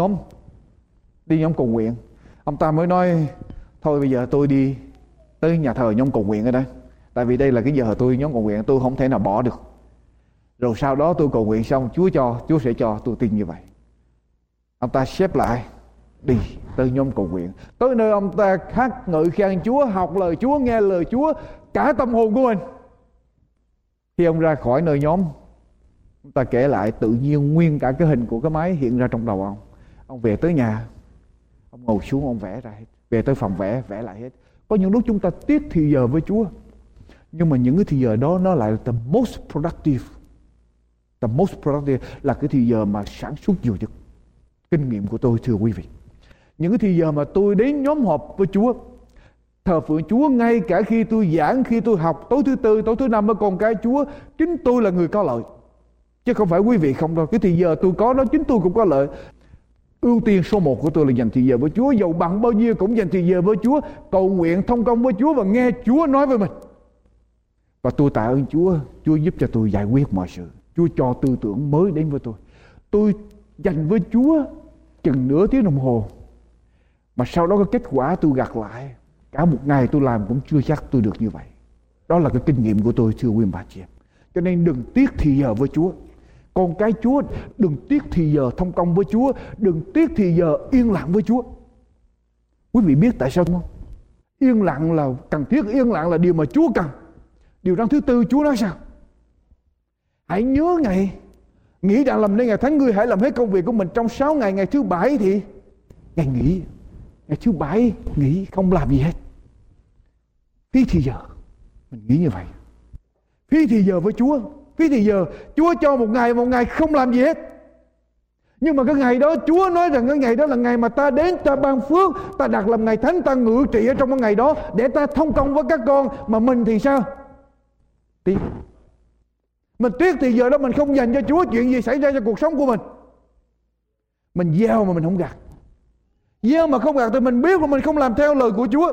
nhóm cầu nguyện. Ông ta mới nói thôi bây giờ tôi đi tới nhà thờ nhóm cầu nguyện ở đây. Tại vì đây là cái giờ tôi nhóm cầu nguyện, tôi không thể nào bỏ được. Rồi sau đó tôi cầu nguyện xong Chúa sẽ cho, tôi tin như vậy. Ông ta xếp lại đi tới nhóm cầu nguyện. Tới nơi ông ta hát ngợi khen Chúa, học lời Chúa, nghe lời Chúa cả tâm hồn của mình. Khi ông ra khỏi nơi nhóm, ông ta kể lại tự nhiên nguyên cả cái hình của cái máy hiện ra trong đầu ông. Ông về tới nhà, ông ngồi xuống ông vẽ ra hết. Về tới phòng vẽ lại hết. Có những lúc chúng ta tiếc thì giờ với Chúa, nhưng mà những cái thì giờ đó nó lại là the most productive. The most productive là cái thì giờ mà sản xuất nhiều nhất. Kinh nghiệm của tôi thưa quý vị, những cái thì giờ mà tôi đến nhóm họp với Chúa, thờ phượng Chúa, ngay cả khi tôi giảng, khi tôi học tối thứ tư, tối thứ năm với con cái Chúa, chính tôi là người có lợi, chứ không phải quý vị không đâu. Cái thì giờ tôi có đó chính tôi cũng có lợi. Ưu tiên số 1 của tôi là dành thì giờ với Chúa, dầu bằng bao nhiêu cũng dành thì giờ với Chúa, cầu nguyện thông công với Chúa và nghe Chúa nói với mình. Và tôi tạ ơn Chúa, Chúa giúp cho tôi giải quyết mọi sự. Chúa cho tư tưởng mới đến với tôi. Tôi dành với Chúa chừng nửa tiếng đồng hồ, mà sau đó cái kết quả tôi gặt lại cả một ngày tôi làm cũng chưa chắc tôi được như vậy. Đó là cái kinh nghiệm của tôi thưa quý bà chị em. Cho nên đừng tiếc thì giờ với Chúa. Con cái Chúa đừng tiếc thì giờ thông công với Chúa, đừng tiếc thì giờ yên lặng với Chúa. Quý vị biết tại sao không? Yên lặng là cần thiết, yên lặng là điều mà Chúa cần. Điều răn thứ tư Chúa nói sao? Hãy nhớ ngày, nghĩ rằng làm nên ngày thánh, ngươi hãy làm hết công việc của mình trong 6 ngày. Ngày thứ 7 thì ngày nghỉ. Ngày thứ 7 nghỉ, không làm gì hết. Phí thì giờ. Mình nghĩ như vậy. Phí thì giờ với Chúa. Phí thì giờ. Chúa cho một ngày không làm gì hết. Nhưng mà cái ngày đó Chúa nói rằng cái ngày đó là ngày mà ta đến, ta ban phước, ta đặt làm ngày thánh, ta ngự trị ở trong cái ngày đó để ta thông công với các con. Mà mình thì sao? Tiếc. Mình tiếc thì giờ đó mình không dành cho Chúa. Chuyện gì xảy ra cho cuộc sống của mình? Mình gieo mà mình không gặt. Gieo mà không gặt thì mình biết là mình không làm theo lời của Chúa.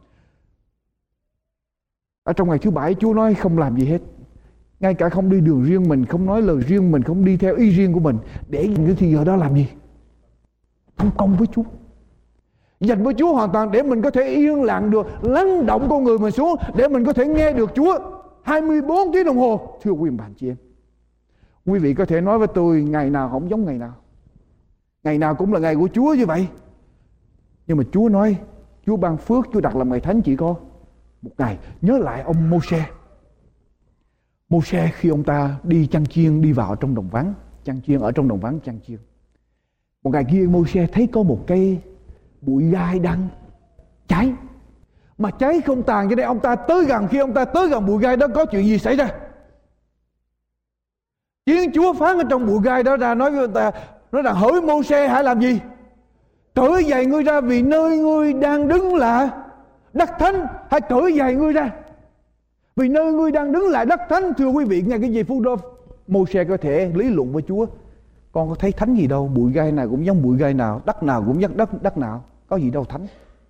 Ở trong ngày thứ 7 Chúa nói không làm gì hết. Ngay cả không đi đường riêng mình, không nói lời riêng mình, không đi theo ý riêng của mình. Để những thì giờ đó làm gì? Thông công với Chúa. Dành với Chúa hoàn toàn để mình có thể yên lặng được, lắng động con người mình xuống để mình có thể nghe được Chúa 24 tiếng đồng hồ. Thưa quý bạn chị em, quý vị có thể nói với tôi ngày nào không giống ngày nào. Ngày nào cũng là ngày của Chúa như vậy. Nhưng mà Chúa nói, Chúa ban phước, Chúa đặt làm ngày thánh chỉ có một ngày. Nhớ lại ông Mô-se. Mô-se khi ông ta đi chăn chiên, đi vào trong đồng vắng, chăn chiên ở trong đồng vắng chăn chiên. Một ngày kia Mô-se thấy có một cây bụi gai đang cháy. Mà cháy không tàn, cho nên ông ta tới gần. Khi ông ta tới gần bụi gai đó, có chuyện gì xảy ra? Tiếng Chúa phán ở trong bụi gai đó ra, nói với ông ta, nói rằng hỡi Mô-se hãy làm gì? Cởi giày ngươi ra, vì nơi ngươi đang đứng là đất thánh. Hãy cởi giày ngươi ra, vì nơi ngươi đang đứng là đất thánh. Thưa quý vị, ngay cái giây phút đó Mô-se có thể lý luận với Chúa. Con có thấy thánh gì đâu, bụi gai nào cũng giống bụi gai nào, đất nào cũng giống đất nào, có gì đâu thánh.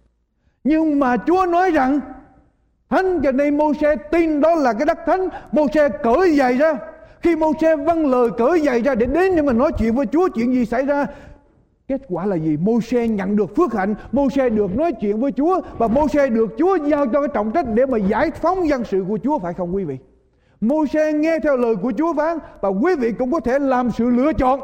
Nhưng mà Chúa nói rằng thánh, cho nên Mô-se tin đó là cái đất thánh. Mô-se cởi giày ra. Khi Mô-se vâng lời cởi giày ra để đến để mà nói chuyện với Chúa, chuyện gì xảy ra? Kết quả là gì? Mô-se nhận được phước hạnh, Mô-se được nói chuyện với Chúa, và Mô-se được Chúa giao cho cái trọng trách để mà giải phóng dân sự của Chúa, phải không quý vị? Mô-se nghe theo lời của Chúa phán, và quý vị cũng có thể làm sự lựa chọn.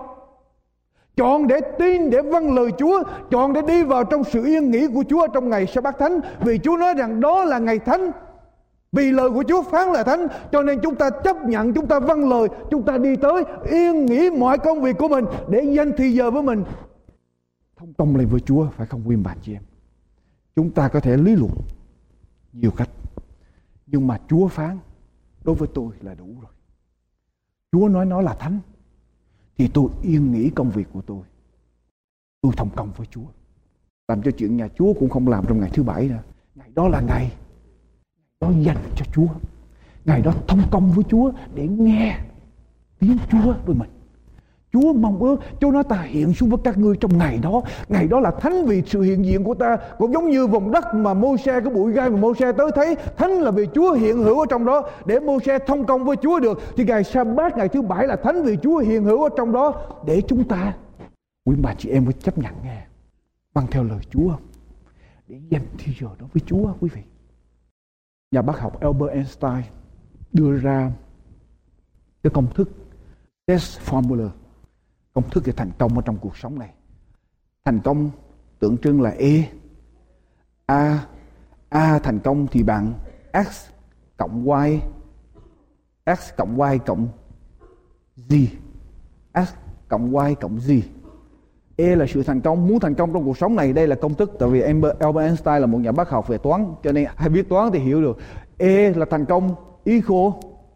Chọn để tin, để vâng lời Chúa, chọn để đi vào trong sự yên nghỉ của Chúa trong ngày Sa-bát thánh, vì Chúa nói rằng đó là ngày thánh. Vì lời của Chúa phán là thánh, cho nên chúng ta chấp nhận, chúng ta vâng lời, chúng ta đi tới yên nghỉ mọi công việc của mình để dành thời giờ với mình, thông công lại với Chúa, phải không quý bạn chị em? Chúng ta có thể lý luận nhiều cách, nhưng mà Chúa phán đối với tôi là đủ rồi. Chúa nói nó là thánh thì tôi yên nghỉ công việc của tôi thông công với Chúa. Làm cho chuyện nhà Chúa cũng không làm trong ngày thứ 7 nữa. Ngày đó là ngày đó dành cho Chúa, ngày đó thông công với Chúa để nghe tiếng Chúa với mình. Chúa mong ước, Chúa nói ta hiện xuống với các ngươi trong ngày đó. Ngày đó là thánh vì sự hiện diện của ta. Cũng giống như vùng đất mà Mô-se, cái bụi gai mà Mô-se tới thấy, thánh là vì Chúa hiện hữu ở trong đó để Mô-se thông công với Chúa được. Thì ngày Sa-bát, ngày thứ 7 là thánh vì Chúa hiện hữu ở trong đó để chúng ta, quý bà chị em, phải chấp nhận nghe, vâng theo lời Chúa để dành thời giờ đó với Chúa. Quý vị, nhà bác học Albert Einstein đưa ra cái công thức test formula, công thức để thành công ở trong cuộc sống này. Thành công tượng trưng là A thành công thì bằng X cộng Y, X cộng Y cộng Z, X cộng Y cộng Z. E là sự thành công. Muốn thành công trong cuộc sống này, đây là công thức. Tại vì Albert Einstein là một nhà bác học về toán, cho nên hay biết toán thì hiểu được. E là thành công equal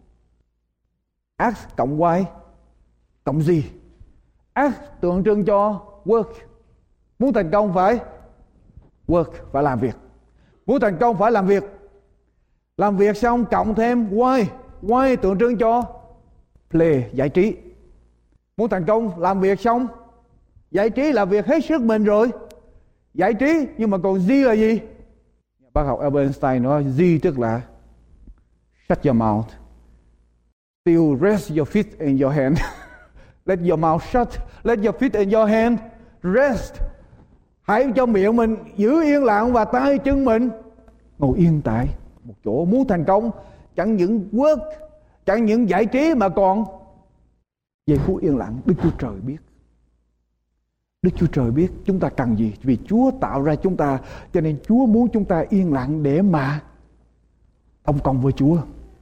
X cộng Y cộng Z. X tượng trưng cho work. Muốn thành công phải work, phải làm việc. Muốn thành công phải làm việc. Làm việc xong cộng thêm Y. Y tượng trưng cho play, giải trí. Muốn thành công làm việc xong giải trí là việc hết sức mình rồi, giải trí. Nhưng mà còn Z là gì? Bác học Albert Einstein nói Z tức là shut your mouth, still rest your feet in your hand. Let your mouth shut, let your feet in your hand rest. Hãy cho miệng mình giữ yên lặng và tay chân mình ngồi yên tại một chỗ. Muốn thành công chẳng những work, chẳng những giải trí mà còn giây phút yên lặng. Đức Chúa Trời biết. Đức Chúa Trời biết chúng ta cần gì, vì Chúa tạo ra chúng ta, cho nên Chúa muốn chúng ta yên lặng để mà thông công với Chúa.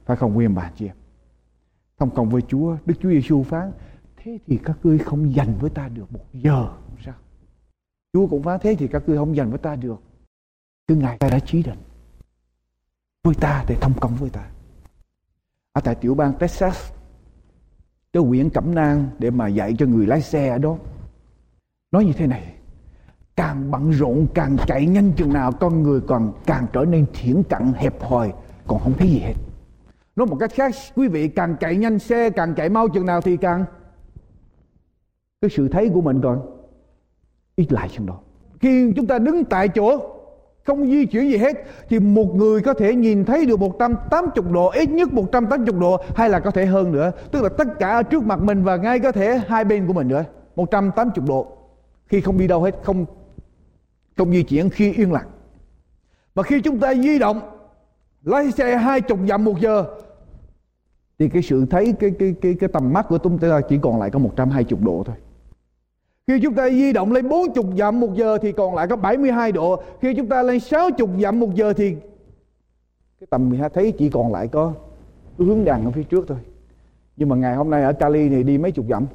Phải không quý ông bà chị em? Thông công với Chúa, Đức Chúa Giêsu phán: thế thì các ngươi không dành với ta được 1 giờ. Sao? Chúa cũng phán: thế thì các ngươi không dành với ta được. Cứ Ngài ta đã chỉ định với ta để thông công với ta. Ở tại tiểu bang Texas, cái huyện Cẩm Nang để mà dạy cho người lái xe ở đó, nói như thế này: càng bận rộn, càng chạy nhanh chừng nào, con người còn càng trở nên thiển cận, hẹp hòi, còn không thấy gì hết. Nói một cách khác, quý vị, càng chạy nhanh, xe càng chạy mau chừng nào thì càng cái sự thấy của mình còn ít lại chừng đó. Khi chúng ta đứng tại chỗ không di chuyển gì hết thì một người có thể nhìn thấy được 180 độ, ít nhất 180 độ, hay là có thể hơn nữa. Tức là tất cả ở trước mặt mình và ngay có thể hai bên của mình nữa, 180 độ. Khi không đi đâu hết, không di chuyển, khi yên lặng. Mà khi chúng ta di động, lái xe 20 dặm 1 giờ thì cái sự thấy cái tầm mắt của chúng ta chỉ còn lại có 120 độ thôi. Khi chúng ta di động lên 40 dặm 1 giờ thì còn lại có 72 độ. Khi chúng ta lên 60 dặm 1 giờ thì cái tầm mình thấy chỉ còn lại có cái hướng đằng ở phía trước thôi. Nhưng mà ngày hôm nay ở Cali thì đi mấy chục dặm,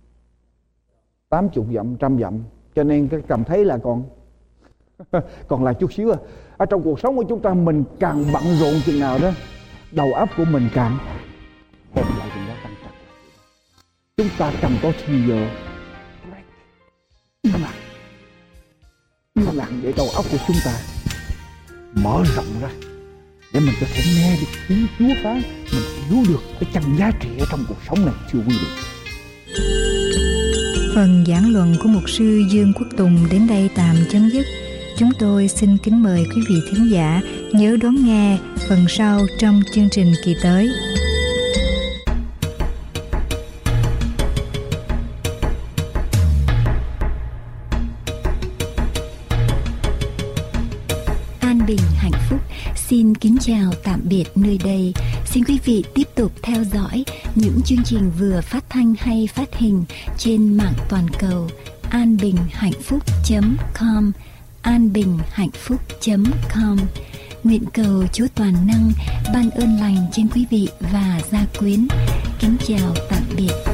80 dặm, 100 dặm, cho nên cái cảm thấy là còn lại chút xíu à. Ở trong cuộc sống của chúng ta, mình càng bận rộn chừng nào đó, đầu óc của mình càng hẹp lại chừng đó, càng chặt lại. Chúng ta cần có thì giờ yên lặng để đầu óc của chúng ta mở rộng ra, để mình có thể nghe được tiếng Chúa phán, mình hiểu được cái chân giá trị ở trong cuộc sống này, thưa quý vị. Phần giảng luận của mục sư Dương Quốc Tùng đến đây tạm chấm dứt. Chúng tôi xin kính mời quý vị thính giả nhớ đón nghe phần sau trong chương trình kỳ tới. An Bình Hạnh Phúc xin kính chào tạm biệt nơi đây. Xin quý vị tiếp tục theo dõi những chương trình vừa phát thanh hay phát hình trên mạng toàn cầu anbinhhạnhphúc.com, anbinhhạnhphúc.com. Nguyện cầu Chúa toàn năng ban ơn lành trên quý vị và gia quyến. Kính chào tạm biệt.